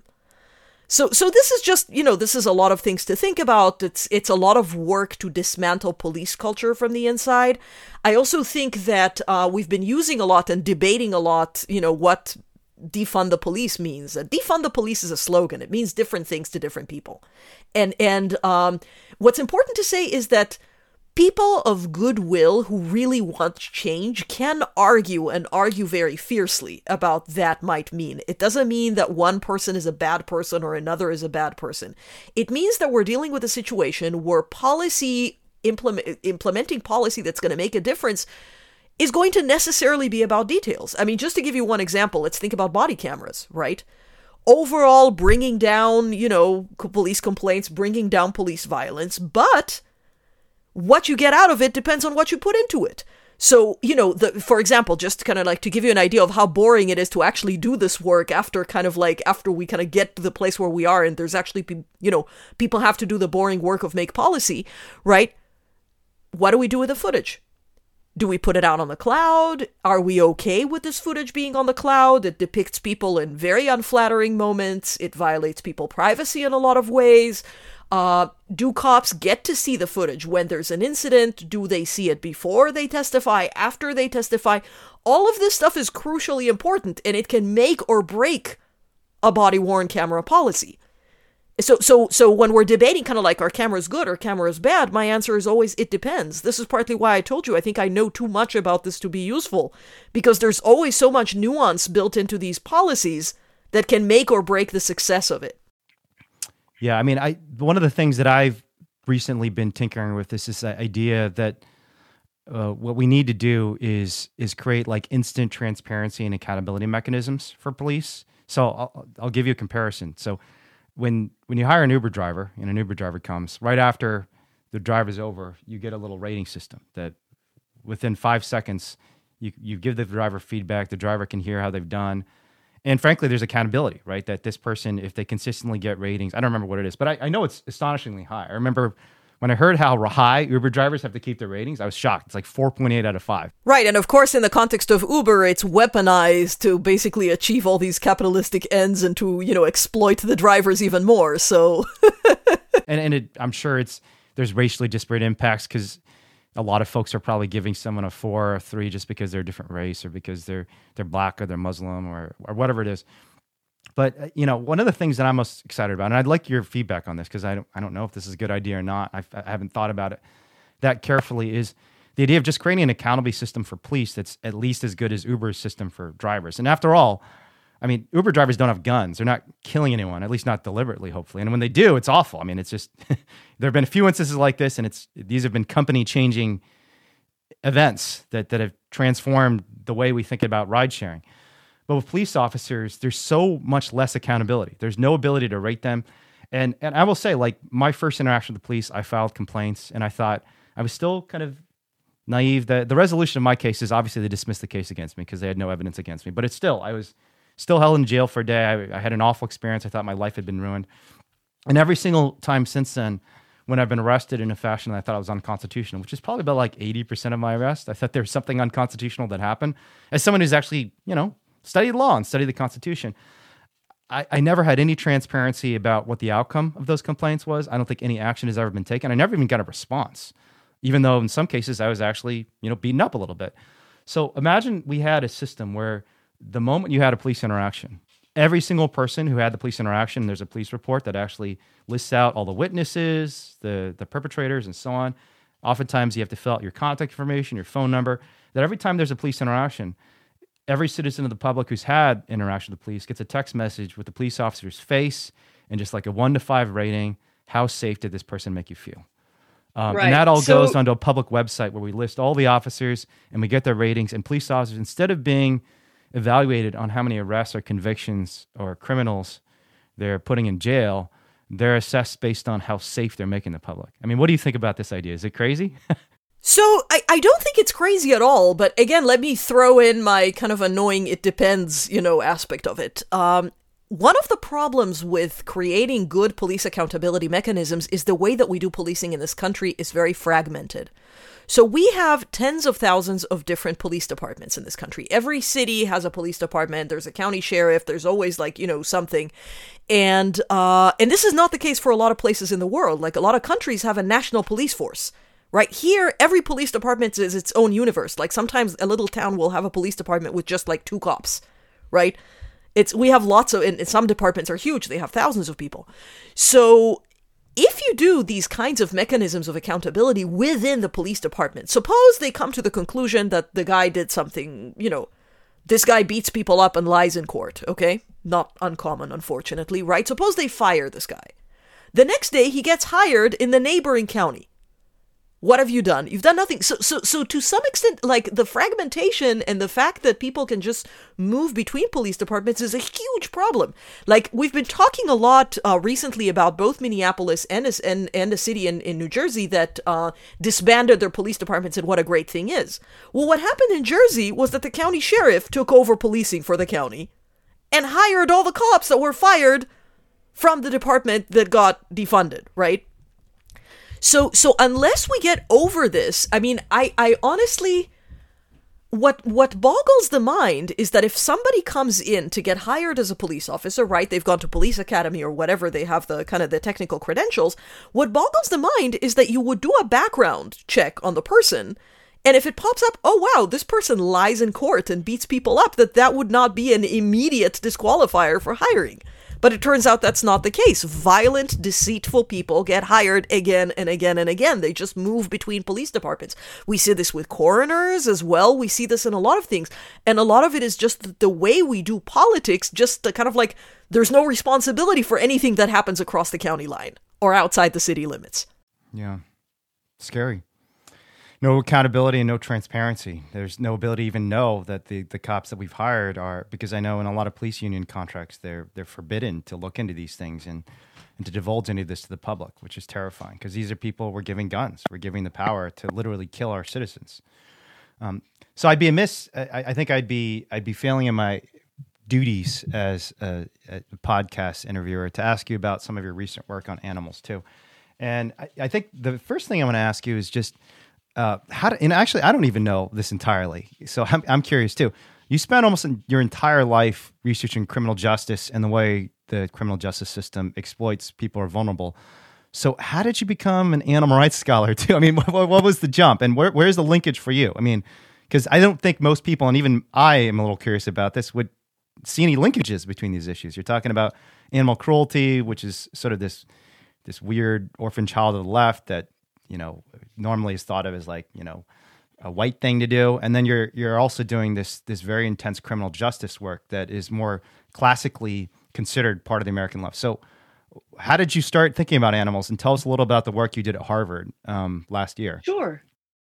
So this is just, this is a lot of things to think about. It's a lot of work to dismantle police culture from the inside. I also think that we've been using a lot and debating a lot, what defund the police means. Defund the police is a slogan. It means different things to different people. And what's important to say is that people of goodwill who really want change can argue and argue very fiercely about that might mean. It doesn't mean that one person is a bad person or another is a bad person. It means that we're dealing with a situation where implementing policy that's going to make a difference is going to necessarily be about details. I mean, just to give you one example, let's think about body cameras, right? Overall, bringing down, police complaints, bringing down police violence, but what you get out of it depends on what you put into it. So, for example, just kind of like to give you an idea of how boring it is to actually do this work after we kind of get to the place where we are and there's actually, people have to do the boring work of make policy, right? What do we do with the footage? Do we put it out on the cloud? Are we okay with this footage being on the cloud? It depicts people in very unflattering moments. It violates people's privacy in a lot of ways. Do cops get to see the footage when there's an incident? Do they see it before they testify, after they testify? All of this stuff is crucially important, and it can make or break a body-worn camera policy. So when we're debating kind of like, are cameras good or cameras bad, my answer is always, it depends. This is partly why I told you I think I know too much about this to be useful, because there's always so much nuance built into these policies that can make or break the success of it. Yeah, I mean, one of the things that I've recently been tinkering with is this idea that what we need to do is create like instant transparency and accountability mechanisms for police. So I'll give you a comparison. So when you hire an Uber driver and an Uber driver comes, right after the drive is over, you get a little rating system that within 5 seconds, you give the driver feedback, the driver can hear how they've done. And frankly, there's accountability, right? That this person, if they consistently get ratings, I don't remember what it is, but I know it's astonishingly high. I remember when I heard how high Uber drivers have to keep their ratings, I was shocked. It's like 4.8 out of 5. Right, and of course, in the context of Uber, it's weaponized to basically achieve all these capitalistic ends and to, exploit the drivers even more, so... I'm sure there's racially disparate impacts because a lot of folks are probably giving someone a 4 or a 3 just because they're a different race or because they're black or they're Muslim or whatever it is. But one of the things that I'm most excited about, and I'd like your feedback on this because I don't know if this is a good idea or not. I haven't thought about it that carefully. Is the idea of just creating an accountability system for police that's at least as good as Uber's system for drivers. And after all, I mean, Uber drivers don't have guns. They're not killing anyone, at least not deliberately, hopefully. And when they do, it's awful. I mean, it's just, there have been a few instances like this, and these have been company-changing events that have transformed the way we think about ride sharing. But with police officers, there's so much less accountability. There's no ability to rate them. And I will say, like, my first interaction with the police, I filed complaints, and I thought I was still kind of naive. The resolution of my case is obviously they dismissed the case against me because they had no evidence against me. But it's still, I was still held in jail for a day. I had an awful experience. I thought my life had been ruined. And every single time since then, when I've been arrested in a fashion that I thought was unconstitutional, which is probably about like 80% of my arrest, I thought there was something unconstitutional that happened. As someone who's actually, studied law and studied the Constitution, I never had any transparency about what the outcome of those complaints was. I don't think any action has ever been taken. I never even got a response, even though in some cases I was actually, beaten up a little bit. So imagine we had a system where the moment you had a police interaction, every single person who had the police interaction, there's a police report that actually lists out all the witnesses, the perpetrators, and so on. Oftentimes you have to fill out your contact information, your phone number, that every time there's a police interaction, every citizen of the public who's had interaction with the police gets a text message with the police officer's face and just like a 1 to 5 rating. How safe did this person make you feel? Right. And that all goes onto a public website where we list all the officers and we get their ratings. And police officers, instead of being evaluated on how many arrests or convictions or criminals they're putting in jail, they're assessed based on how safe they're making the public. I mean, what do you think about this idea? Is it crazy? So I don't think it's crazy at all, but again, let me throw in my kind of annoying it depends, aspect of it. One of the problems with creating good police accountability mechanisms is the way that we do policing in this country is very fragmented. So we have tens of thousands of different police departments in this country. Every city has a police department. There's a county sheriff. There's always something. And this is not the case for a lot of places in the world. Like a lot of countries have a national police force. Right here, every police department is its own universe. Like sometimes a little town will have a police department with just like 2 cops, right? We have lots of, and some departments are huge. They have thousands of people. So if you do these kinds of mechanisms of accountability within the police department, suppose they come to the conclusion that the guy did something, this guy beats people up and lies in court, okay? Not uncommon, unfortunately, right? Suppose they fire this guy. The next day, he gets hired in the neighboring county. What have you done? You've done nothing. So to some extent, like the fragmentation and the fact that people can just move between police departments is a huge problem. Like we've been talking a lot recently about both Minneapolis and a city in New Jersey that disbanded their police departments and what a great thing is. Well, what happened in Jersey was that the county sheriff took over policing for the county and hired all the cops that were fired from the department that got defunded, right? So unless we get over this, I mean, I honestly, what boggles the mind is that if somebody comes in to get hired as a police officer, right, they've gone to police academy or whatever, they have the kind of the technical credentials, what boggles the mind is that you would do a background check on the person, and if it pops up, oh wow, this person lies in court and beats people up, that would not be an immediate disqualifier for hiring. But it turns out that's not the case. Violent, deceitful people get hired again and again and again. They just move between police departments. We see this with coroners as well. We see this in a lot of things. And a lot of it is just the way we do politics, just the kind of like there's no responsibility for anything that happens across the county line or outside the city limits. Yeah. Scary. No accountability and no transparency. There's no ability to even know that the cops that we've hired are, because I know in a lot of police union contracts, they're forbidden to look into these things and to divulge any of this to the public, which is terrifying because these are people we're giving guns. We're giving the power to literally kill our citizens. So I'd be amiss. I think I'd be failing in my duties as a podcast interviewer to ask you about some of your recent work on animals too. And I think the first thing I want to ask you is just, and actually, I don't even know this entirely, so I'm curious too. You spent almost your entire life researching criminal justice and the way the criminal justice system exploits people who are vulnerable. So how did you become an animal rights scholar too? I mean, what was the jump, and where's the linkage for you? I mean, because I don't think most people, and even I am a little curious about this, would see any linkages between these issues. You're talking about animal cruelty, which is sort of this weird orphan child of the left that normally is thought of as like, a white thing to do. And then you're also doing this very intense criminal justice work that is more classically considered part of the American left. So how did you start thinking about animals? And tell us a little about the work you did at Harvard last year. Sure.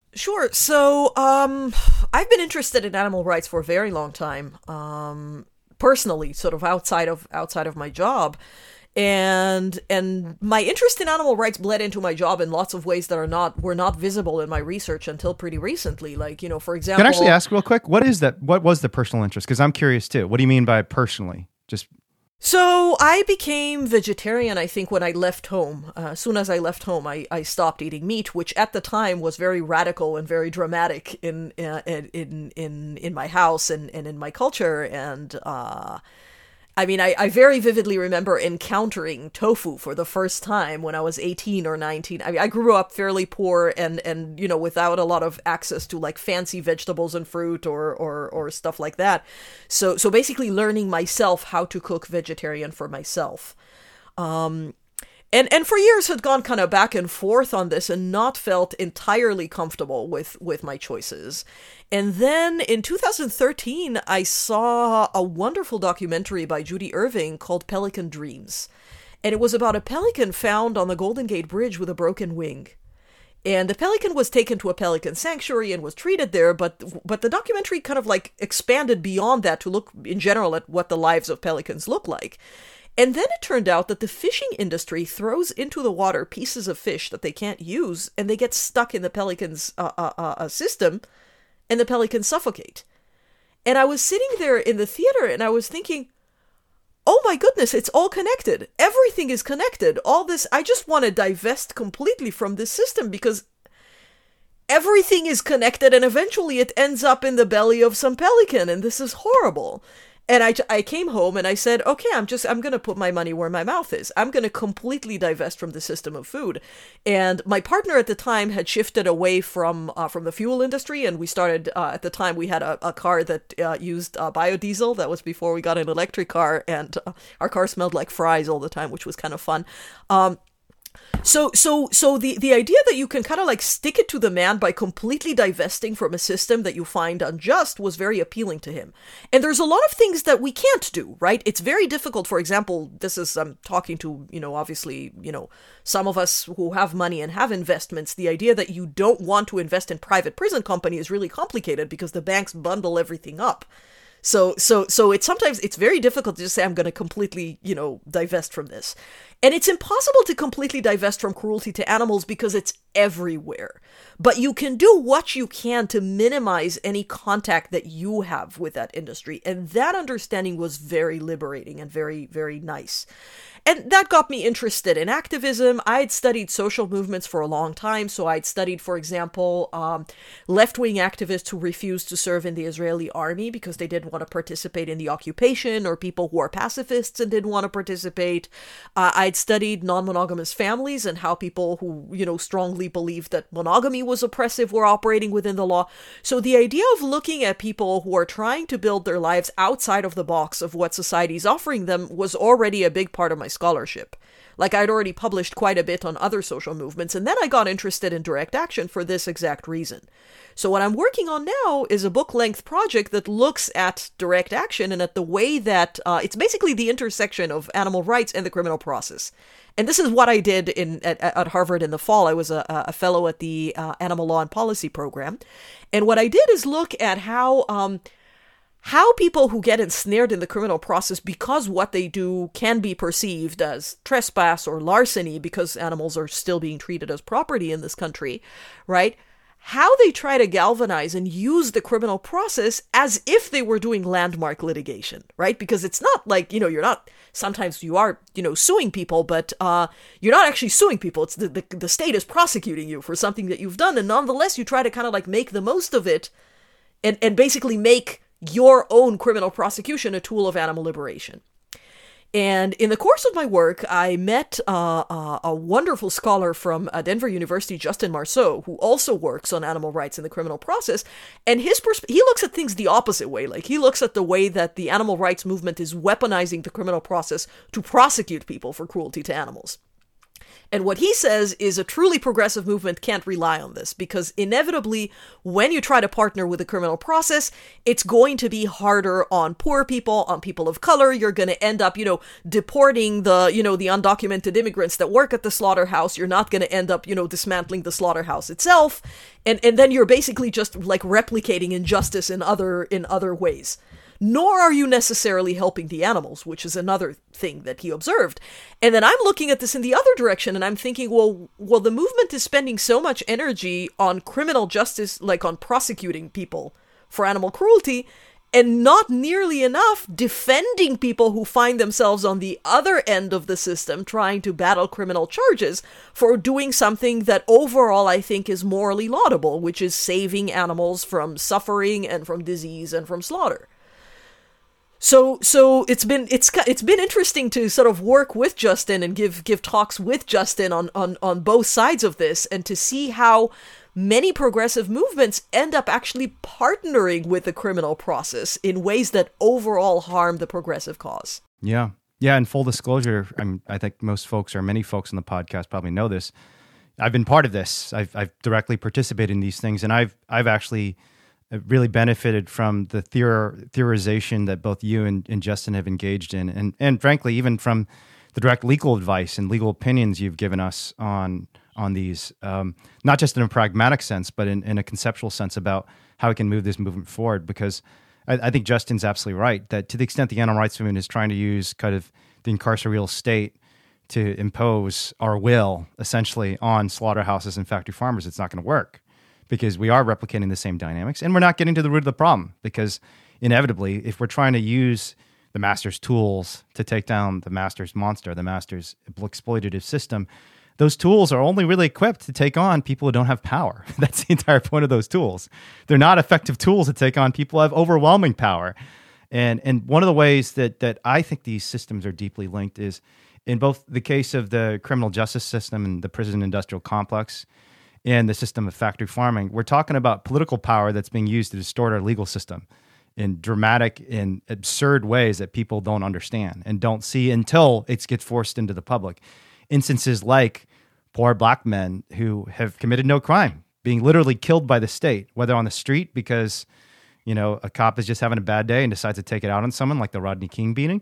So I've been interested in animal rights for a very long time, personally, sort of outside of my job. And my interest in animal rights bled into my job in lots of ways that were not visible in my research until pretty recently. Like, for example, can I actually ask real quick, what is that? What was the personal interest? Because I'm curious too. What do you mean by personally? Just so I became vegetarian, I think, when I left home. As soon as I left home, I stopped eating meat, which at the time was very radical and very dramatic in my house and in my culture. And I mean, I very vividly remember encountering tofu for the first time when I was 18 or 19. I mean, I grew up fairly poor and without a lot of access to like fancy vegetables and fruit or stuff like that. So basically learning myself how to cook vegetarian for myself. And for years had gone kind of back and forth on this and not felt entirely comfortable with my choices. And then in 2013, I saw a wonderful documentary by Judy Irving called Pelican Dreams. And it was about a pelican found on the Golden Gate Bridge with a broken wing. And the pelican was taken to a pelican sanctuary and was treated there, but the documentary kind of like expanded beyond that to look in general at what the lives of pelicans look like. And then it turned out that the fishing industry throws into the water pieces of fish that they can't use, and they get stuck in the pelican's system, and the pelicans suffocate. And I was sitting there in the theater, and I was thinking, oh my goodness, it's all connected. Everything is connected. All this, I just want to divest completely from this system because everything is connected, and eventually it ends up in the belly of some pelican, and this is horrible. And I came home and I said, okay, I'm going to put my money where my mouth is. I'm going to completely divest from the system of food. And my partner at the time had shifted away from the fuel industry. And we started, at the time, we had a car that used biodiesel. That was before we got an electric car. And our car smelled like fries all the time, which was kind of fun. So the idea that you can kind of like stick it to the man by completely divesting from a system that you find unjust was very appealing to him. And there's a lot of things that we can't do, right? It's very difficult. For example, this is, I'm talking to, obviously, some of us who have money and have investments. The idea that you don't want to invest in private prison company is really complicated because the banks bundle everything up. So it's very difficult to just say, I'm going to completely, divest from this. And it's impossible to completely divest from cruelty to animals because it's everywhere. But you can do what you can to minimize any contact that you have with that industry. And that understanding was very liberating and very, very nice. And that got me interested in activism. I'd studied social movements for a long time. So I'd studied, for example, left-wing activists who refused to serve in the Israeli army because they didn't want to participate in the occupation, or people who are pacifists and didn't want to participate. I'd studied non-monogamous families and how people who, strongly believed that monogamy was oppressive were operating within the law. So the idea of looking at people who are trying to build their lives outside of the box of what society is offering them was already a big part of my scholarship. Like, I'd already published quite a bit on other social movements, and then I got interested in direct action for this exact reason. So what I'm working on now is a book-length project that looks at direct action and at the way that it's basically the intersection of animal rights and the criminal process. And this is what I did at Harvard in the fall. I was a fellow at the Animal Law and Policy program. And what I did is look at how people who get ensnared in the criminal process because what they do can be perceived as trespass or larceny because animals are still being treated as property in this country, right? How they try to galvanize and use the criminal process as if they were doing landmark litigation, right? Because it's not like, you're not, sometimes you are, suing people, but you're not actually suing people. It's the state is prosecuting you for something that you've done. And nonetheless, you try to kind of like make the most of it and basically make your own criminal prosecution a tool of animal liberation. And in the course of my work, I met a wonderful scholar from Denver University, Justin Marceau, who also works on animal rights in the criminal process. And he looks at things the opposite way. Like, he looks at the way that the animal rights movement is weaponizing the criminal process to prosecute people for cruelty to animals. And what he says is a truly progressive movement can't rely on this because inevitably, when you try to partner with the criminal process, it's going to be harder on poor people, on people of color. You're going to end up, deporting the undocumented immigrants that work at the slaughterhouse. You're not going to end up, dismantling the slaughterhouse itself. And then you're basically just like replicating injustice in other ways. nor are you necessarily helping the animals, which is another thing that he observed. And then I'm looking at this in the other direction, and I'm thinking, well, the movement is spending so much energy on criminal justice, like on prosecuting people for animal cruelty, and not nearly enough defending people who find themselves on the other end of the system trying to battle criminal charges for doing something that overall I think is morally laudable, which is saving animals from suffering and from disease and from slaughter. So it's been interesting to sort of work with Justin and give talks with Justin on both sides of this, and to see how many progressive movements end up actually partnering with the criminal process in ways that overall harm the progressive cause. Yeah. Yeah. And full disclosure, I think many folks on the podcast probably know this. I've been part of this. I've directly participated in these things, and I've actually really benefited from the theorization that both you and Justin have engaged in, and frankly, even from the direct legal advice and legal opinions you've given us on these, not just in a pragmatic sense, but in a conceptual sense about how we can move this movement forward. Because I think Justin's absolutely right that to the extent the animal rights movement is trying to use kind of the incarcereal state to impose our will essentially on slaughterhouses and factory farmers, it's not going to work, because we are replicating the same dynamics, and we're not getting to the root of the problem. Because inevitably, if we're trying to use the master's tools to take down the master's monster, the master's exploitative system, those tools are only really equipped to take on people who don't have power. That's the entire point of those tools. They're not effective tools to take on people who have overwhelming power. And one of the ways that I think these systems are deeply linked is in both the case of the criminal justice system and the prison industrial complex and the system of factory farming. We're talking about political power that's being used to distort our legal system in dramatic and absurd ways that people don't understand and don't see until it gets forced into the public. Instances like poor black men who have committed no crime being literally killed by the state, whether on the street because, a cop is just having a bad day and decides to take it out on someone, like the Rodney King beating,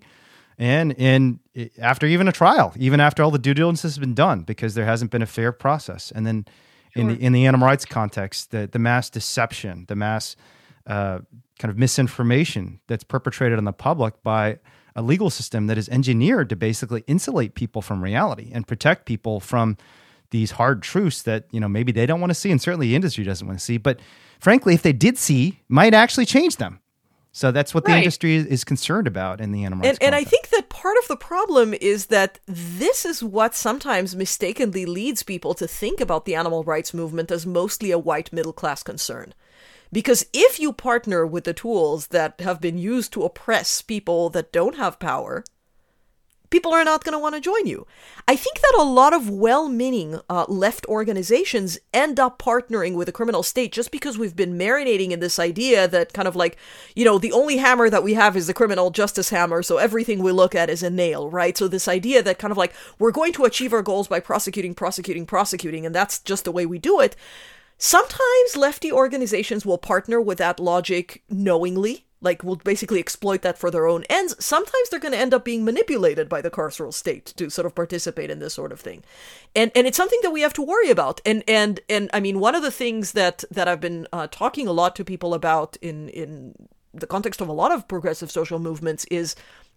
and after even a trial, even after all the due diligence has been done, because there hasn't been a fair process. And then in the animal rights context, the mass deception, the mass kind of misinformation that's perpetrated on the public by a legal system that is engineered to basically insulate people from reality and protect people from these hard truths that, maybe they don't want to see, and certainly the industry doesn't want to see. But frankly, if they did see, might actually change them. So that's what the industry is concerned about in the animal rights and I think that part of the problem is that this is what sometimes mistakenly leads people to think about the animal rights movement as mostly a white middle-class concern. Because if you partner with the tools that have been used to oppress people that don't have power, people are not going to want to join you. I think that a lot of well-meaning left organizations end up partnering with the criminal state just because we've been marinating in this idea that kind of like, the only hammer that we have is the criminal justice hammer, so everything we look at is a nail, right? So this idea that kind of like, we're going to achieve our goals by prosecuting, and that's just the way we do it. Sometimes lefty organizations will partner with that logic knowingly, like will basically exploit that for their own ends. Sometimes they're going to end up being manipulated by the carceral state to sort of participate in this sort of thing. And it's something that we have to worry about. And I mean, one of the things that I've been talking a lot to people about in the context of a lot of progressive social movements is,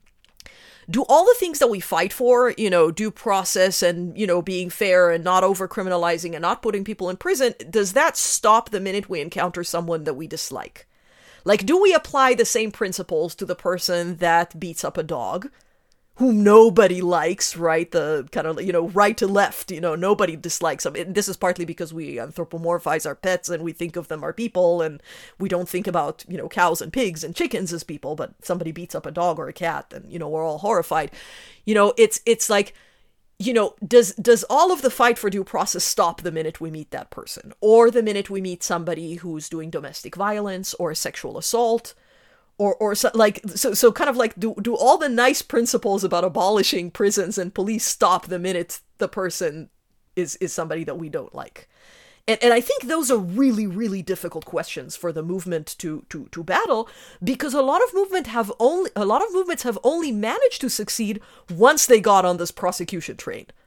do all the things that we fight for, due process and, being fair and not over-criminalizing and not putting people in prison, does that stop the minute we encounter someone that we dislike? Like, do we apply the same principles to the person that beats up a dog, whom nobody likes, right? The kind of, right to left, nobody dislikes them. And this is partly because we anthropomorphize our pets and we think of them as people, and we don't think about, cows and pigs and chickens as people, but somebody beats up a dog or a cat and, we're all horrified. It's like, does all of the fight for due process stop the minute we meet that person, or the minute we meet somebody who's doing domestic violence or sexual assault? Or so, so kind of like, do all the nice principles about abolishing prisons and police stop the minute the person is somebody that we don't like? And I think those are really, really difficult questions for the movement to battle, because a lot of movements have only managed to succeed once they got on this prosecution train.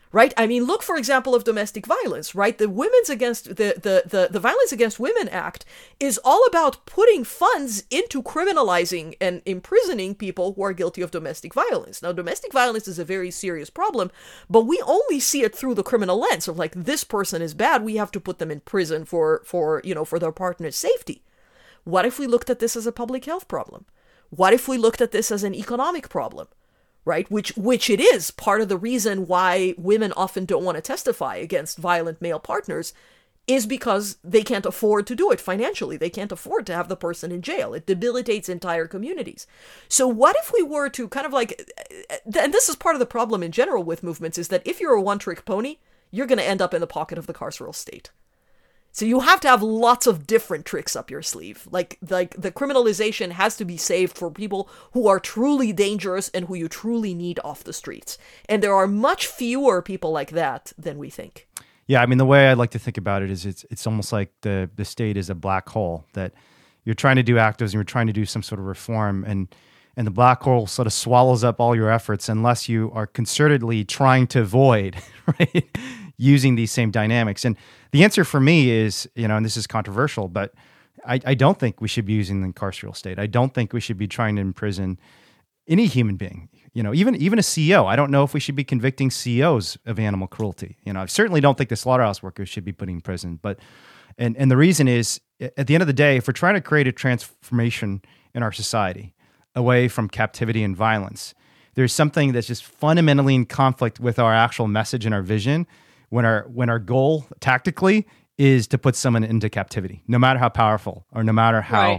Right? I mean, look, for example, of domestic violence, right? The Violence Against Women Act is all about putting funds into criminalizing and imprisoning people who are guilty of domestic violence. Now, domestic violence is a very serious problem, but we only see it through the criminal lens of like, this person is bad, we have to put them in prison for their partner's safety. What if we looked at this as a public health problem? What if we looked at this as an economic problem? Right? Which it is part of the reason why women often don't want to testify against violent male partners is because they can't afford to do it financially. They can't afford to have the person in jail. It debilitates entire communities. So what if we were to kind of like, and this is part of the problem in general with movements, is that if you're a one-trick pony, you're going to end up in the pocket of the carceral state. So you have to have lots of different tricks up your sleeve. Like the criminalization has to be saved for people who are truly dangerous and who you truly need off the streets. And there are much fewer people like that than we think. Yeah, I mean, the way I like to think about it is it's almost like the state is a black hole that you're trying to do activism, you're trying to do some sort of reform, and the black hole sort of swallows up all your efforts unless you are concertedly trying to avoid, right, using these same dynamics. And the answer for me is, and this is controversial, but I don't think we should be using the carceral state. I don't think we should be trying to imprison any human being, even a CEO. I don't know if we should be convicting CEOs of animal cruelty. I certainly don't think the slaughterhouse workers should be put in prison. But and the reason is, at the end of the day, if we're trying to create a transformation in our society away from captivity and violence, there's something that's just fundamentally in conflict with our actual message and our vision when our goal tactically is to put someone into captivity, no matter how powerful or no matter how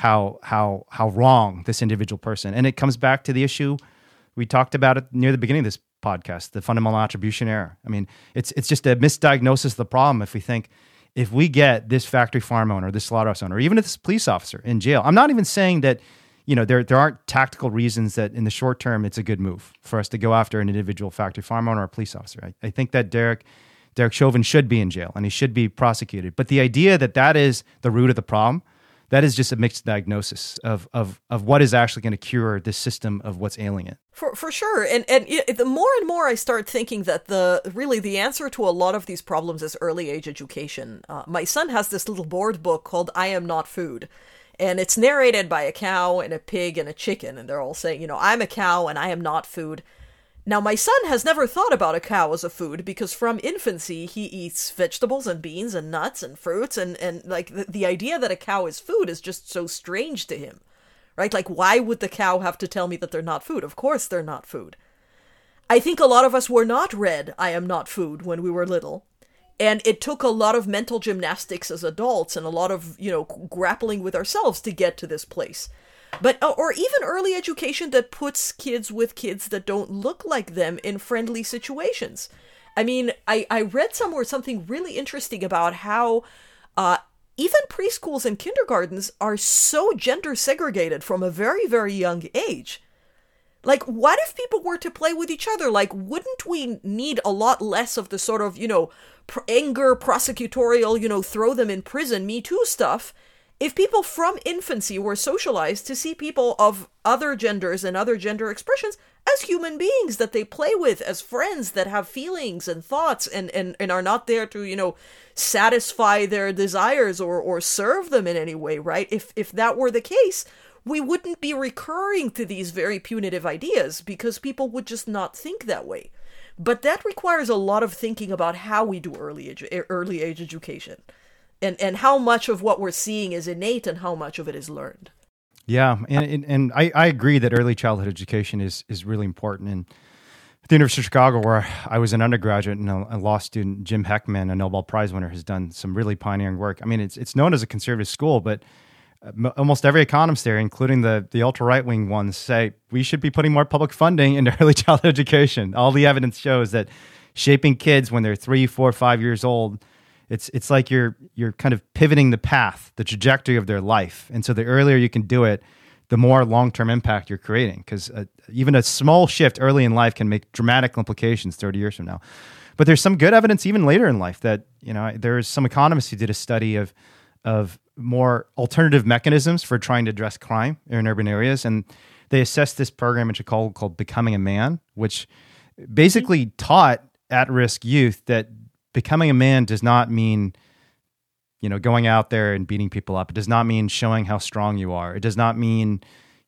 wrong this individual person. And it comes back to the issue we talked about it near the beginning of this podcast, the fundamental attribution error. I mean, it's just a misdiagnosis of the problem if we think if we get this factory farm owner, this slaughterhouse owner, or even this police officer in jail. I'm not even saying that there aren't tactical reasons that in the short term it's a good move for us to go after an individual factory farm owner or police officer. I think that Derek Chauvin should be in jail and he should be prosecuted. But the idea that is the root of the problem, that is just a mixed diagnosis of what is actually going to cure this system of what's ailing it. For sure. And the more and more I start thinking that the answer to a lot of these problems is early age education. My son has this little board book called I Am Not Food. And it's narrated by a cow and a pig and a chicken. And they're all saying, I'm a cow and I am not food. Now, my son has never thought about a cow as a food because from infancy, he eats vegetables and beans and nuts and fruits. And like the idea that a cow is food is just so strange to him, right? Like, why would the cow have to tell me that they're not food? Of course they're not food. I think a lot of us were not read I Am Not Food when we were little. And it took a lot of mental gymnastics as adults and a lot of, grappling with ourselves to get to this place. But, or even early education that puts kids with kids that don't look like them in friendly situations. I mean, I read somewhere something really interesting about how even preschools and kindergartens are so gender segregated from a very, very young age. Like, what if people were to play with each other? Like, wouldn't we need a lot less of the sort of, anger, prosecutorial, throw them in prison, Me Too stuff, if people from infancy were socialized to see people of other genders and other gender expressions as human beings that they play with, as friends that have feelings and thoughts and are not there to, satisfy their desires or serve them in any way, right? If that were the case, we wouldn't be recurring to these very punitive ideas because people would just not think that way. But that requires a lot of thinking about how we do early age education and how much of what we're seeing is innate and how much of it is learned. Yeah, and I agree that early childhood education is really important. And at the University of Chicago, where I was an undergraduate and a law student, Jim Heckman, a Nobel Prize winner, has done some really pioneering work. I mean, it's known as a conservative school, but almost every economist there, including the ultra-right-wing ones, say we should be putting more public funding into early childhood education. All the evidence shows that shaping kids when they're 3, 4, 5 years old, it's like you're kind of pivoting the path, the trajectory of their life. And so the earlier you can do it, the more long-term impact you're creating. Because even a small shift early in life can make dramatic implications 30 years from now. But there's some good evidence even later in life that, there's some economists who did a study of more alternative mechanisms for trying to address crime in urban areas. And they assessed this program in Chicago called Becoming a Man, which basically taught at-risk youth that becoming a man does not mean, going out there and beating people up. It does not mean showing how strong you are. It does not mean,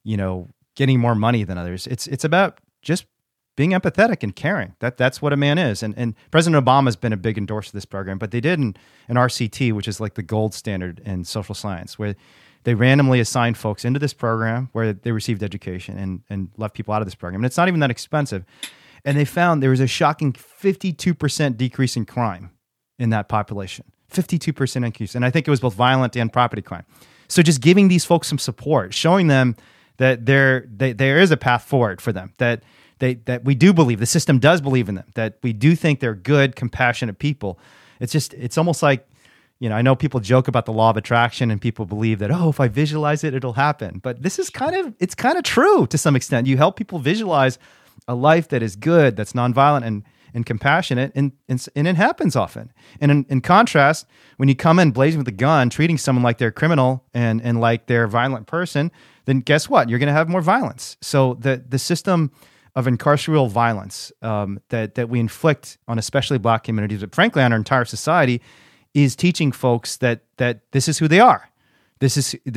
getting more money than others. It's about just being empathetic and caring. That's what a man is. And President Obama has been a big endorser of this program, but they did an RCT, which is like the gold standard in social science, where they randomly assigned folks into this program where they received education and left people out of this program. And it's not even that expensive. And they found there was a shocking 52% decrease in crime in that population. 52% increase. And I think it was both violent and property crime. So just giving these folks some support, showing them that there is a path forward for them, that we do believe, the system does believe in them, that we do think they're good, compassionate people. It's almost like, I know people joke about the law of attraction and people believe that, if I visualize it, it'll happen. But this is kind of true to some extent. You help people visualize a life that is good, that's nonviolent and compassionate, and it happens often. And in contrast, when you come in blazing with a gun, treating someone like they're a criminal and like they're a violent person, then guess what? You're going to have more violence. So the system of incarceral violence that we inflict on especially Black communities, but frankly on our entire society, is teaching folks that this is who they are. This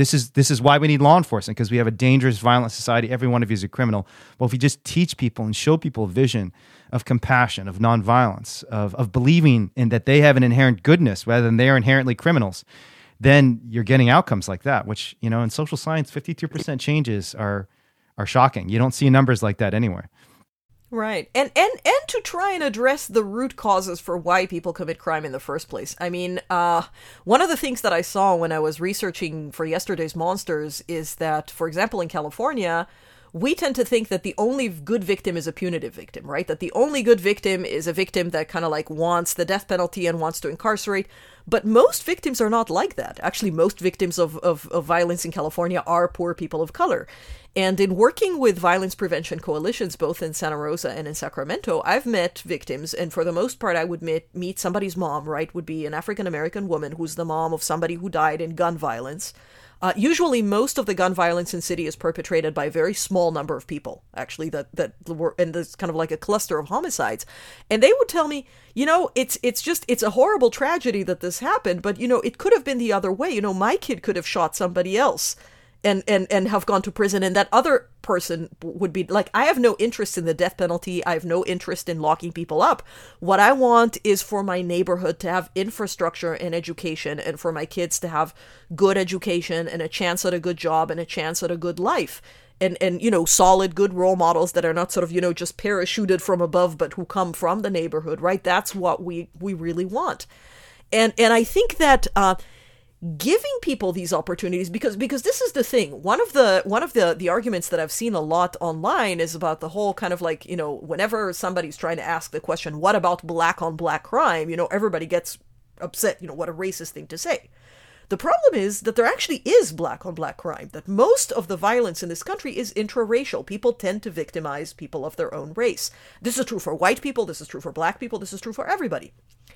is why we need law enforcement, because we have a dangerous, violent society. Every one of you is a criminal. Well, if you just teach people and show people a vision of compassion, of nonviolence, of believing in that they have an inherent goodness rather than they are inherently criminals, then you're getting outcomes like that, which, in social science, 52% changes are shocking. You don't see numbers like that anywhere. Right. And to try and address the root causes for why people commit crime in the first place. I mean, one of the things that I saw when I was researching for yesterday's Monsters is that, for example, in California, we tend to think that the only good victim is a punitive victim, right? That the only good victim is a victim that kind of like wants the death penalty and wants to incarcerate. But most victims are not like that. Actually, most victims of violence in California are poor people of color. And in working with violence prevention coalitions, both in Santa Rosa and in Sacramento, I've met victims, and for the most part, I would meet somebody's mom, right? Would be an African-American woman who's the mom of somebody who died in gun violence. Usually, most of the gun violence in city is perpetrated by a very small number of people, actually, that were, and there's kind of like a cluster of homicides. And they would tell me, it's a horrible tragedy that this happened, but, it could have been the other way. My kid could have shot somebody else and have gone to prison, and that other person would be like, I have no interest in the death penalty. I have no interest in locking people up. What I want is for my neighborhood to have infrastructure and education, and for my kids to have good education and a chance at a good job and a chance at a good life. And solid, good role models that are not sort of, just parachuted from above, but who come from the neighborhood, right? That's what we really want. And I think that, giving people these opportunities, because this is the thing. One of the arguments that I've seen a lot online is about the whole kind of like, whenever somebody's trying to ask the question, what about black on black crime? Everybody gets upset, what a racist thing to say. The problem is that there actually is black on black crime, that most of the violence in this country is intraracial. People tend to victimize people of their own race. This is true for white people, this is true for black people, this is true for everybody.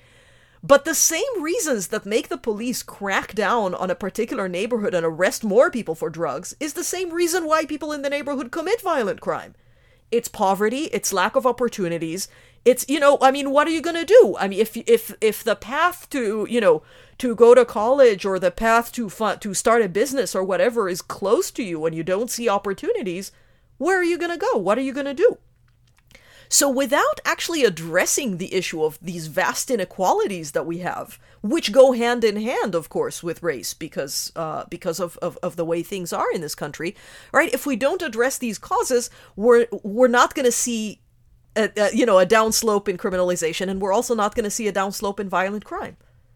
But the same reasons that make the police crack down on a particular neighborhood and arrest more people for drugs is the same reason why people in the neighborhood commit violent crime. It's poverty, it's lack of opportunities, it's, what are you going to do? I mean, if the path to, to go to college or the path to start a business or whatever is close to you and you don't see opportunities, where are you going to go? What are you going to do? So without actually addressing the issue of these vast inequalities that we have, which go hand in hand, of course, with race because of the way things are in this country, right? If we don't address these causes, we're not going to see a downslope in criminalization, and we're also not going to see a downslope in violent crime.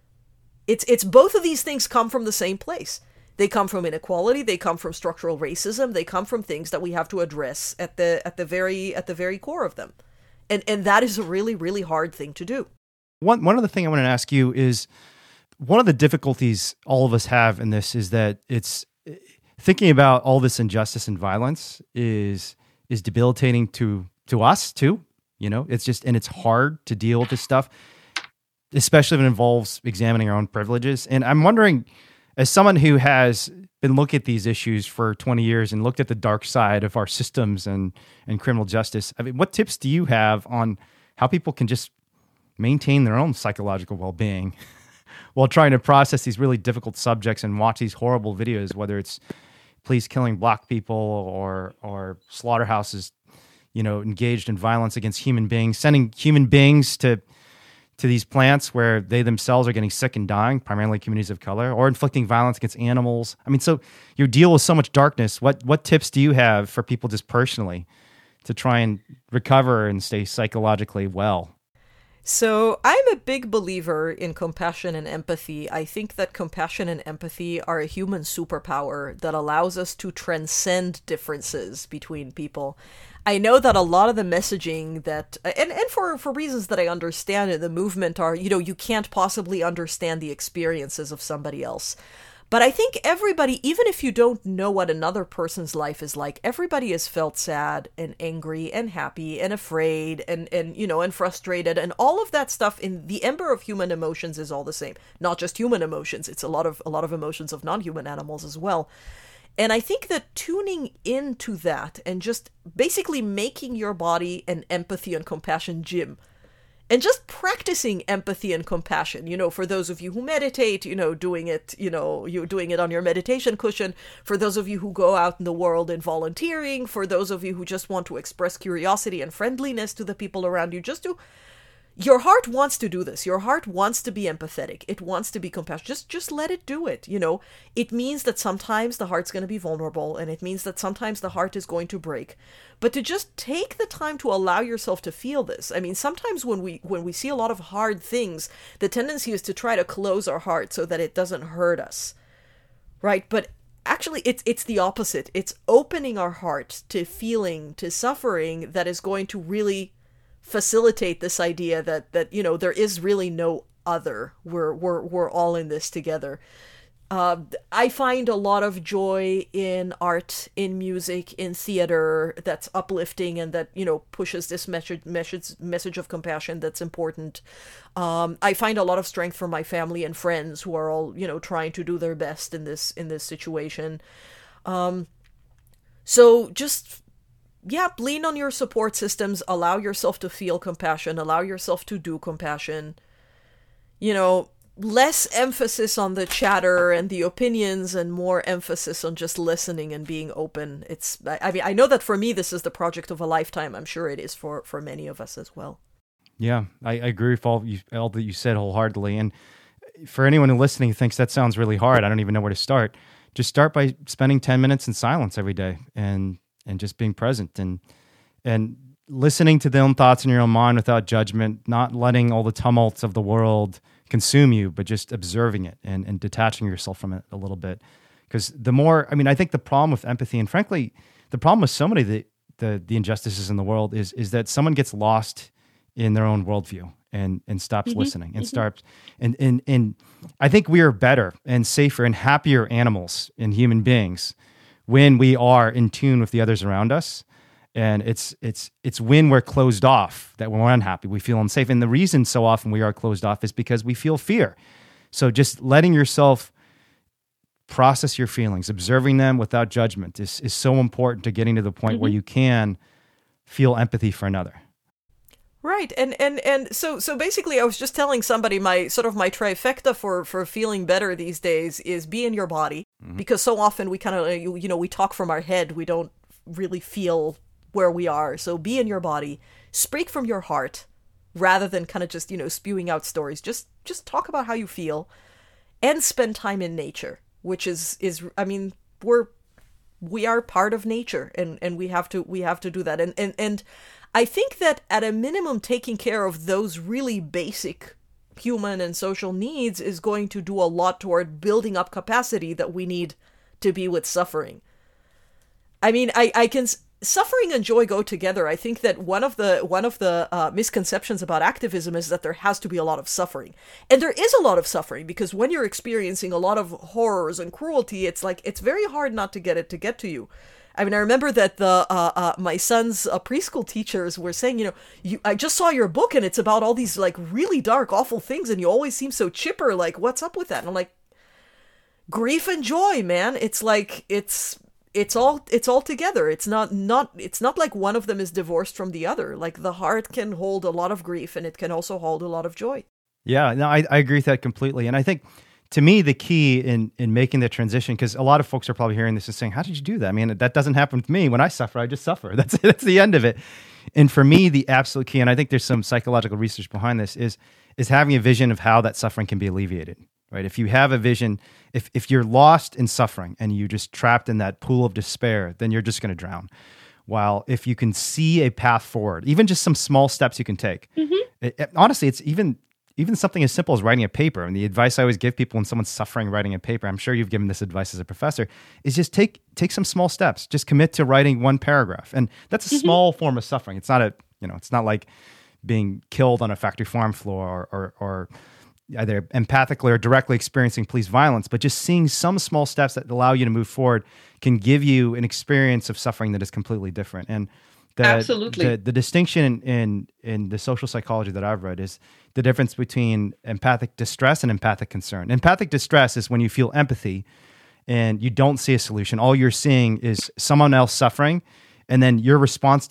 It's both of these things come from the same place. They come from inequality. They come from structural racism. They come from things that we have to address at the very core of them, and that is a really, really hard thing to do. One other thing I want to ask you is, one of the difficulties all of us have in this is that it's thinking about all this injustice and violence is debilitating to us too. It's just, and it's hard to deal with this stuff, especially when it involves examining our own privileges. And I'm wondering, as someone who has been looking at these issues for 20 years and looked at the dark side of our systems and criminal justice, I mean, what tips do you have on how people can just maintain their own psychological well-being while trying to process these really difficult subjects and watch these horrible videos, whether it's police killing black people or slaughterhouses, engaged in violence against human beings, sending human beings to these plants where they themselves are getting sick and dying, primarily communities of color, or inflicting violence against animals. I mean, so you deal with so much darkness. What tips do you have for people just personally to try and recover and stay psychologically well? So I'm a big believer in compassion and empathy. I think that compassion and empathy are a human superpower that allows us to transcend differences between people. I know that a lot of the messaging that, and for reasons that I understand in the movement are, you can't possibly understand the experiences of somebody else. But I think everybody, even if you don't know what another person's life is like, everybody has felt sad and angry and happy and afraid and frustrated, and all of that stuff. In the ember of human emotions is all the same. Not just human emotions; it's a lot of emotions of non-human animals as well. And I think that tuning into that and just basically making your body an empathy and compassion gym. And just practicing empathy and compassion, for those of you who meditate, doing it, you're doing it on your meditation cushion. For those of you who go out in the world and volunteering, for those of you who just want to express curiosity and friendliness to the people around you, your heart wants to do this. Your heart wants to be empathetic. It wants to be compassionate. Just let it do it. It means that sometimes the heart's going to be vulnerable, and it means that sometimes the heart is going to break. But to just take the time to allow yourself to feel this. I mean, sometimes when we see a lot of hard things, the tendency is to try to close our heart so that it doesn't hurt us, right? But actually, it's the opposite. It's opening our heart to feeling, to suffering, that is going to really facilitate this idea that there is really no other. We're all in this together. I find a lot of joy in art, in music, in theater that's uplifting and that pushes this message of compassion that's important. I find a lot of strength from my family and friends who are all trying to do their best in this situation. So just lean on your support systems, allow yourself to feel compassion, allow yourself to do compassion. Less emphasis on the chatter and the opinions and more emphasis on just listening and being open. I know that for me, this is the project of a lifetime. I'm sure it is for many of us as well. Yeah, I agree with all that you said wholeheartedly. And for anyone who listening who thinks that sounds really hard, I don't even know where to start. Just start by spending 10 minutes in silence every day and just being present and listening to their own thoughts in your own mind without judgment, not letting all the tumults of the world consume you, but just observing it and detaching yourself from it a little bit. Because I think the problem with empathy, and frankly, the problem with so many of the injustices in the world is that someone gets lost in their own worldview and stops listening and starts. And I think we are better and safer and happier animals and human beings when we are in tune with the others around us. And it's when we're closed off that when we're unhappy, we feel unsafe. And the reason so often we are closed off is because we feel fear. So just letting yourself process your feelings, observing them without judgment is so important to getting to the point where you can feel empathy for another. Right. And so basically I was just telling somebody my trifecta for feeling better these days is be in your body, because so often we kind of, we talk from our head. We don't really feel where we are. So be in your body, speak from your heart rather than kind of just, spewing out stories. Just talk about how you feel and spend time in nature, which is we are part of nature and we have to do that. And I think that at a minimum, taking care of those really basic human and social needs is going to do a lot toward building up capacity that we need to be with suffering. I mean, suffering and joy go together. I think that one of the misconceptions about activism is that there has to be a lot of suffering. And there is a lot of suffering, because when you're experiencing a lot of horrors and cruelty, it's very hard not to get it to get to you. I mean, I remember that my son's preschool teachers were saying, I just saw your book and it's about all these really dark, awful things, and you always seem so chipper. What's up with that? And I'm like, grief and joy, man. It's it's all together. It's not like one of them is divorced from the other. Like the heart can hold a lot of grief and it can also hold a lot of joy. Yeah, no, I agree with that completely. And I think to me, the key in making the transition, because a lot of folks are probably hearing this and saying, how did you do that? I mean, that doesn't happen with me. When I suffer, I just suffer. That's the end of it. And for me, the absolute key, and I think there's some psychological research behind this, is having a vision of how that suffering can be alleviated, right? If you have a vision, if you're lost in suffering and you're just trapped in that pool of despair, then you're just going to drown. While if you can see a path forward, even just some small steps you can take, honestly, it's even something as simple as writing a paper. And the advice I always give people when someone's suffering writing a paper, I'm sure you've given this advice as a professor, is just take some small steps. Just commit to writing one paragraph. And that's a small form of suffering. It's not it's not like being killed on a factory farm floor or either empathically or directly experiencing police violence, but just seeing some small steps that allow you to move forward can give you an experience of suffering that is completely different. And absolutely, the distinction in the social psychology that I've read is the difference between empathic distress and empathic concern. Empathic distress is when you feel empathy and you don't see a solution. All you're seeing is someone else suffering, and then your response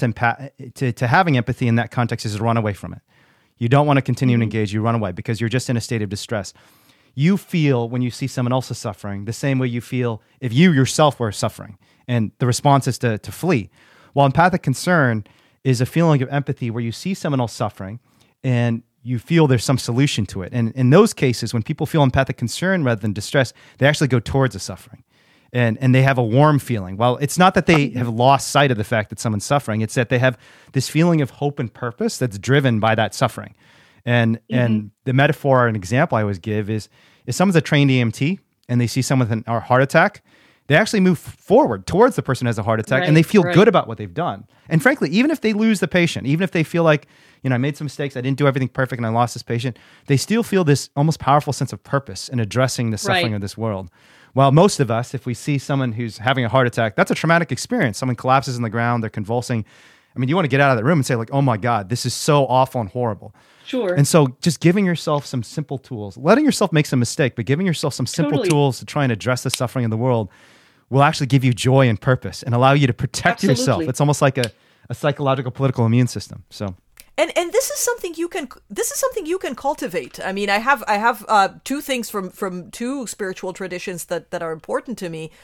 to having empathy in that context is to run away from it. You don't want to continue to engage. You run away because you're just in a state of distress. You feel when you see someone else is suffering the same way you feel if you yourself were suffering, and the response is to flee. While empathic concern is a feeling of empathy where you see someone else suffering and you feel there's some solution to it. And in those cases, when people feel empathic concern rather than distress, they actually go towards the suffering. And they have a warm feeling. Well, it's not that they have lost sight of the fact that someone's suffering. It's that they have this feeling of hope and purpose that's driven by that suffering. And the metaphor and example I always give is if someone's a trained EMT and they see someone with a heart attack, they actually move forward towards the person who has a heart attack, and they feel good about what they've done. And frankly, even if they lose the patient, even if they feel like, I made some mistakes, I didn't do everything perfect, and I lost this patient, they still feel this almost powerful sense of purpose in addressing the suffering of this world. While most of us, if we see someone who's having a heart attack, that's a traumatic experience. Someone collapses on the ground, they're convulsing. I mean, you want to get out of the room and say like, oh my God, this is so awful and horrible. Sure. And so just giving yourself some simple tools, letting yourself make some mistake, but giving yourself some simple tools to try and address the suffering in the world will actually give you joy and purpose and allow you to protect yourself. It's almost like a psychological political immune system. So. And this is something you can cultivate. I mean, I have two things from two spiritual traditions that are important to me.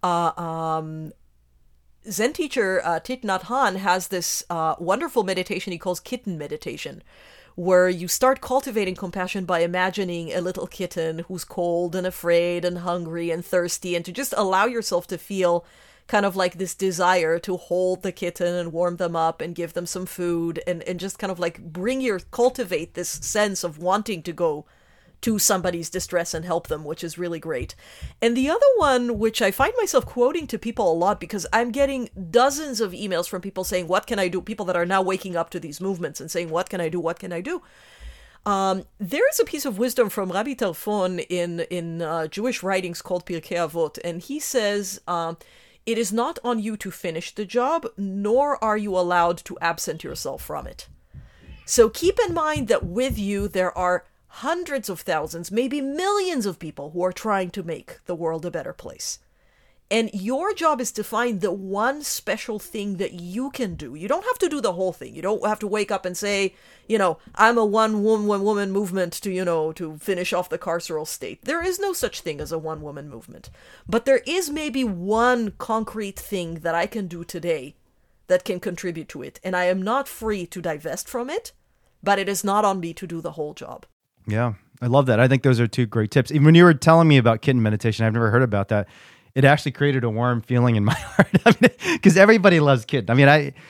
Zen teacher Thich Nhat Hanh has this wonderful meditation he calls kitten meditation, where you start cultivating compassion by imagining a little kitten who's cold and afraid and hungry and thirsty, and to just allow yourself to feel kind of like this desire to hold the kitten and warm them up and give them some food and just kind of like cultivate this sense of wanting to go to somebody's distress and help them, which is really great. And the other one, which I find myself quoting to people a lot because I'm getting dozens of emails from people saying, what can I do? People that are now waking up to these movements and saying, what can I do? What can I do? There is a piece of wisdom from Rabbi Tarfon in Jewish writings called Pirkei Avot, and he says, it is not on you to finish the job, nor are you allowed to absent yourself from it. So keep in mind that with you, there are hundreds of thousands, maybe millions of people who are trying to make the world a better place. And your job is to find the one special thing that you can do. You don't have to do the whole thing. You don't have to wake up and say, I'm a one-woman movement to finish off the carceral state. There is no such thing as a one-woman movement. But there is maybe one concrete thing that I can do today that can contribute to it. And I am not free to divest from it, but it is not on me to do the whole job. Yeah, I love that. I think those are two great tips. Even when you were telling me about kitten meditation, I've never heard about that. It actually created a warm feeling in my heart because everybody loves kitten. I mean,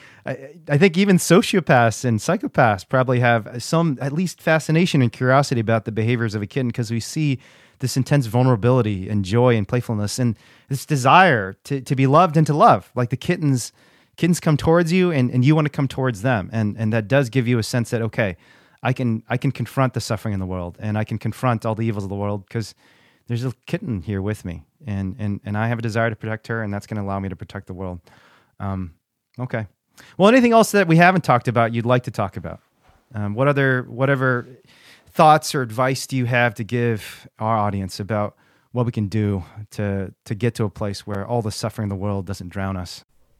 I think even sociopaths and psychopaths probably have some at least fascination and curiosity about the behaviors of a kitten because we see this intense vulnerability and joy and playfulness and this desire to be loved and to love. Like the kittens come towards you and you want to come towards them. And that does give you a sense that, okay, I can confront the suffering in the world and I can confront all the evils of the world because there's a kitten here with me and I have a desire to protect her and that's going to allow me to protect the world. Okay. Well, anything else that we haven't talked about you'd like to talk about? Whatever thoughts or advice do you have to give our audience about what we can do to get to a place where all the suffering in the world doesn't drown us.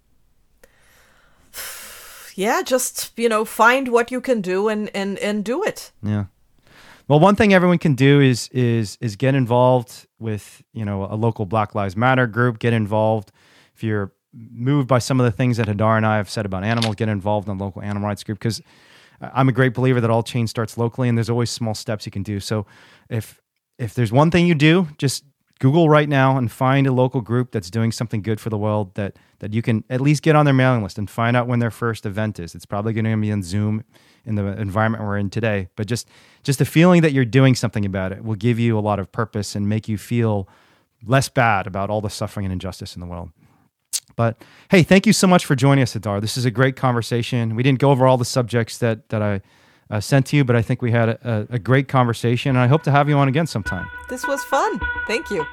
Yeah, just, find what you can do and do it. Yeah. Well, one thing everyone can do is get involved with, a local Black Lives Matter group. Get involved. If you're moved by some of the things that Hadar and I have said about animals, get involved in a local animal rights group, because I'm a great believer that all change starts locally, and there's always small steps you can do. So if there's one thing you do, just Google right now and find a local group that's doing something good for the world that you can at least get on their mailing list and find out when their first event is. It's probably going to be on Zoom in the environment we're in today. But just the feeling that you're doing something about it will give you a lot of purpose and make you feel less bad about all the suffering and injustice in the world. But hey, thank you so much for joining us, Hadar. This is a great conversation. We didn't go over all the subjects that I sent to you, but I think we had a great conversation, and I hope to have you on again sometime. This was fun. Thank you.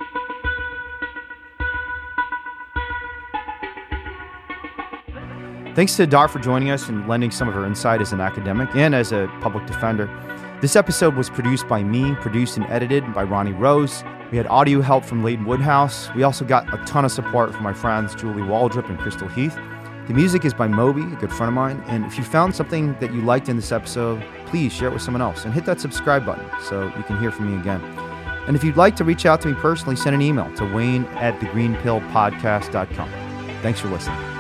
Thanks to Hadar for joining us and lending some of her insight as an academic and as a public defender. This episode was produced by me, produced and edited by Ronnie Rose. We had audio help from Leighton Woodhouse. We also got a ton of support from my friends Julie Waldrop and Crystal Heath. The music is by Moby, a good friend of mine. And if you found something that you liked in this episode, please share it with someone else and hit that subscribe button so you can hear from me again. And if you'd like to reach out to me personally, send an email to wayne@thegreenpillpodcast.com. Thanks for listening.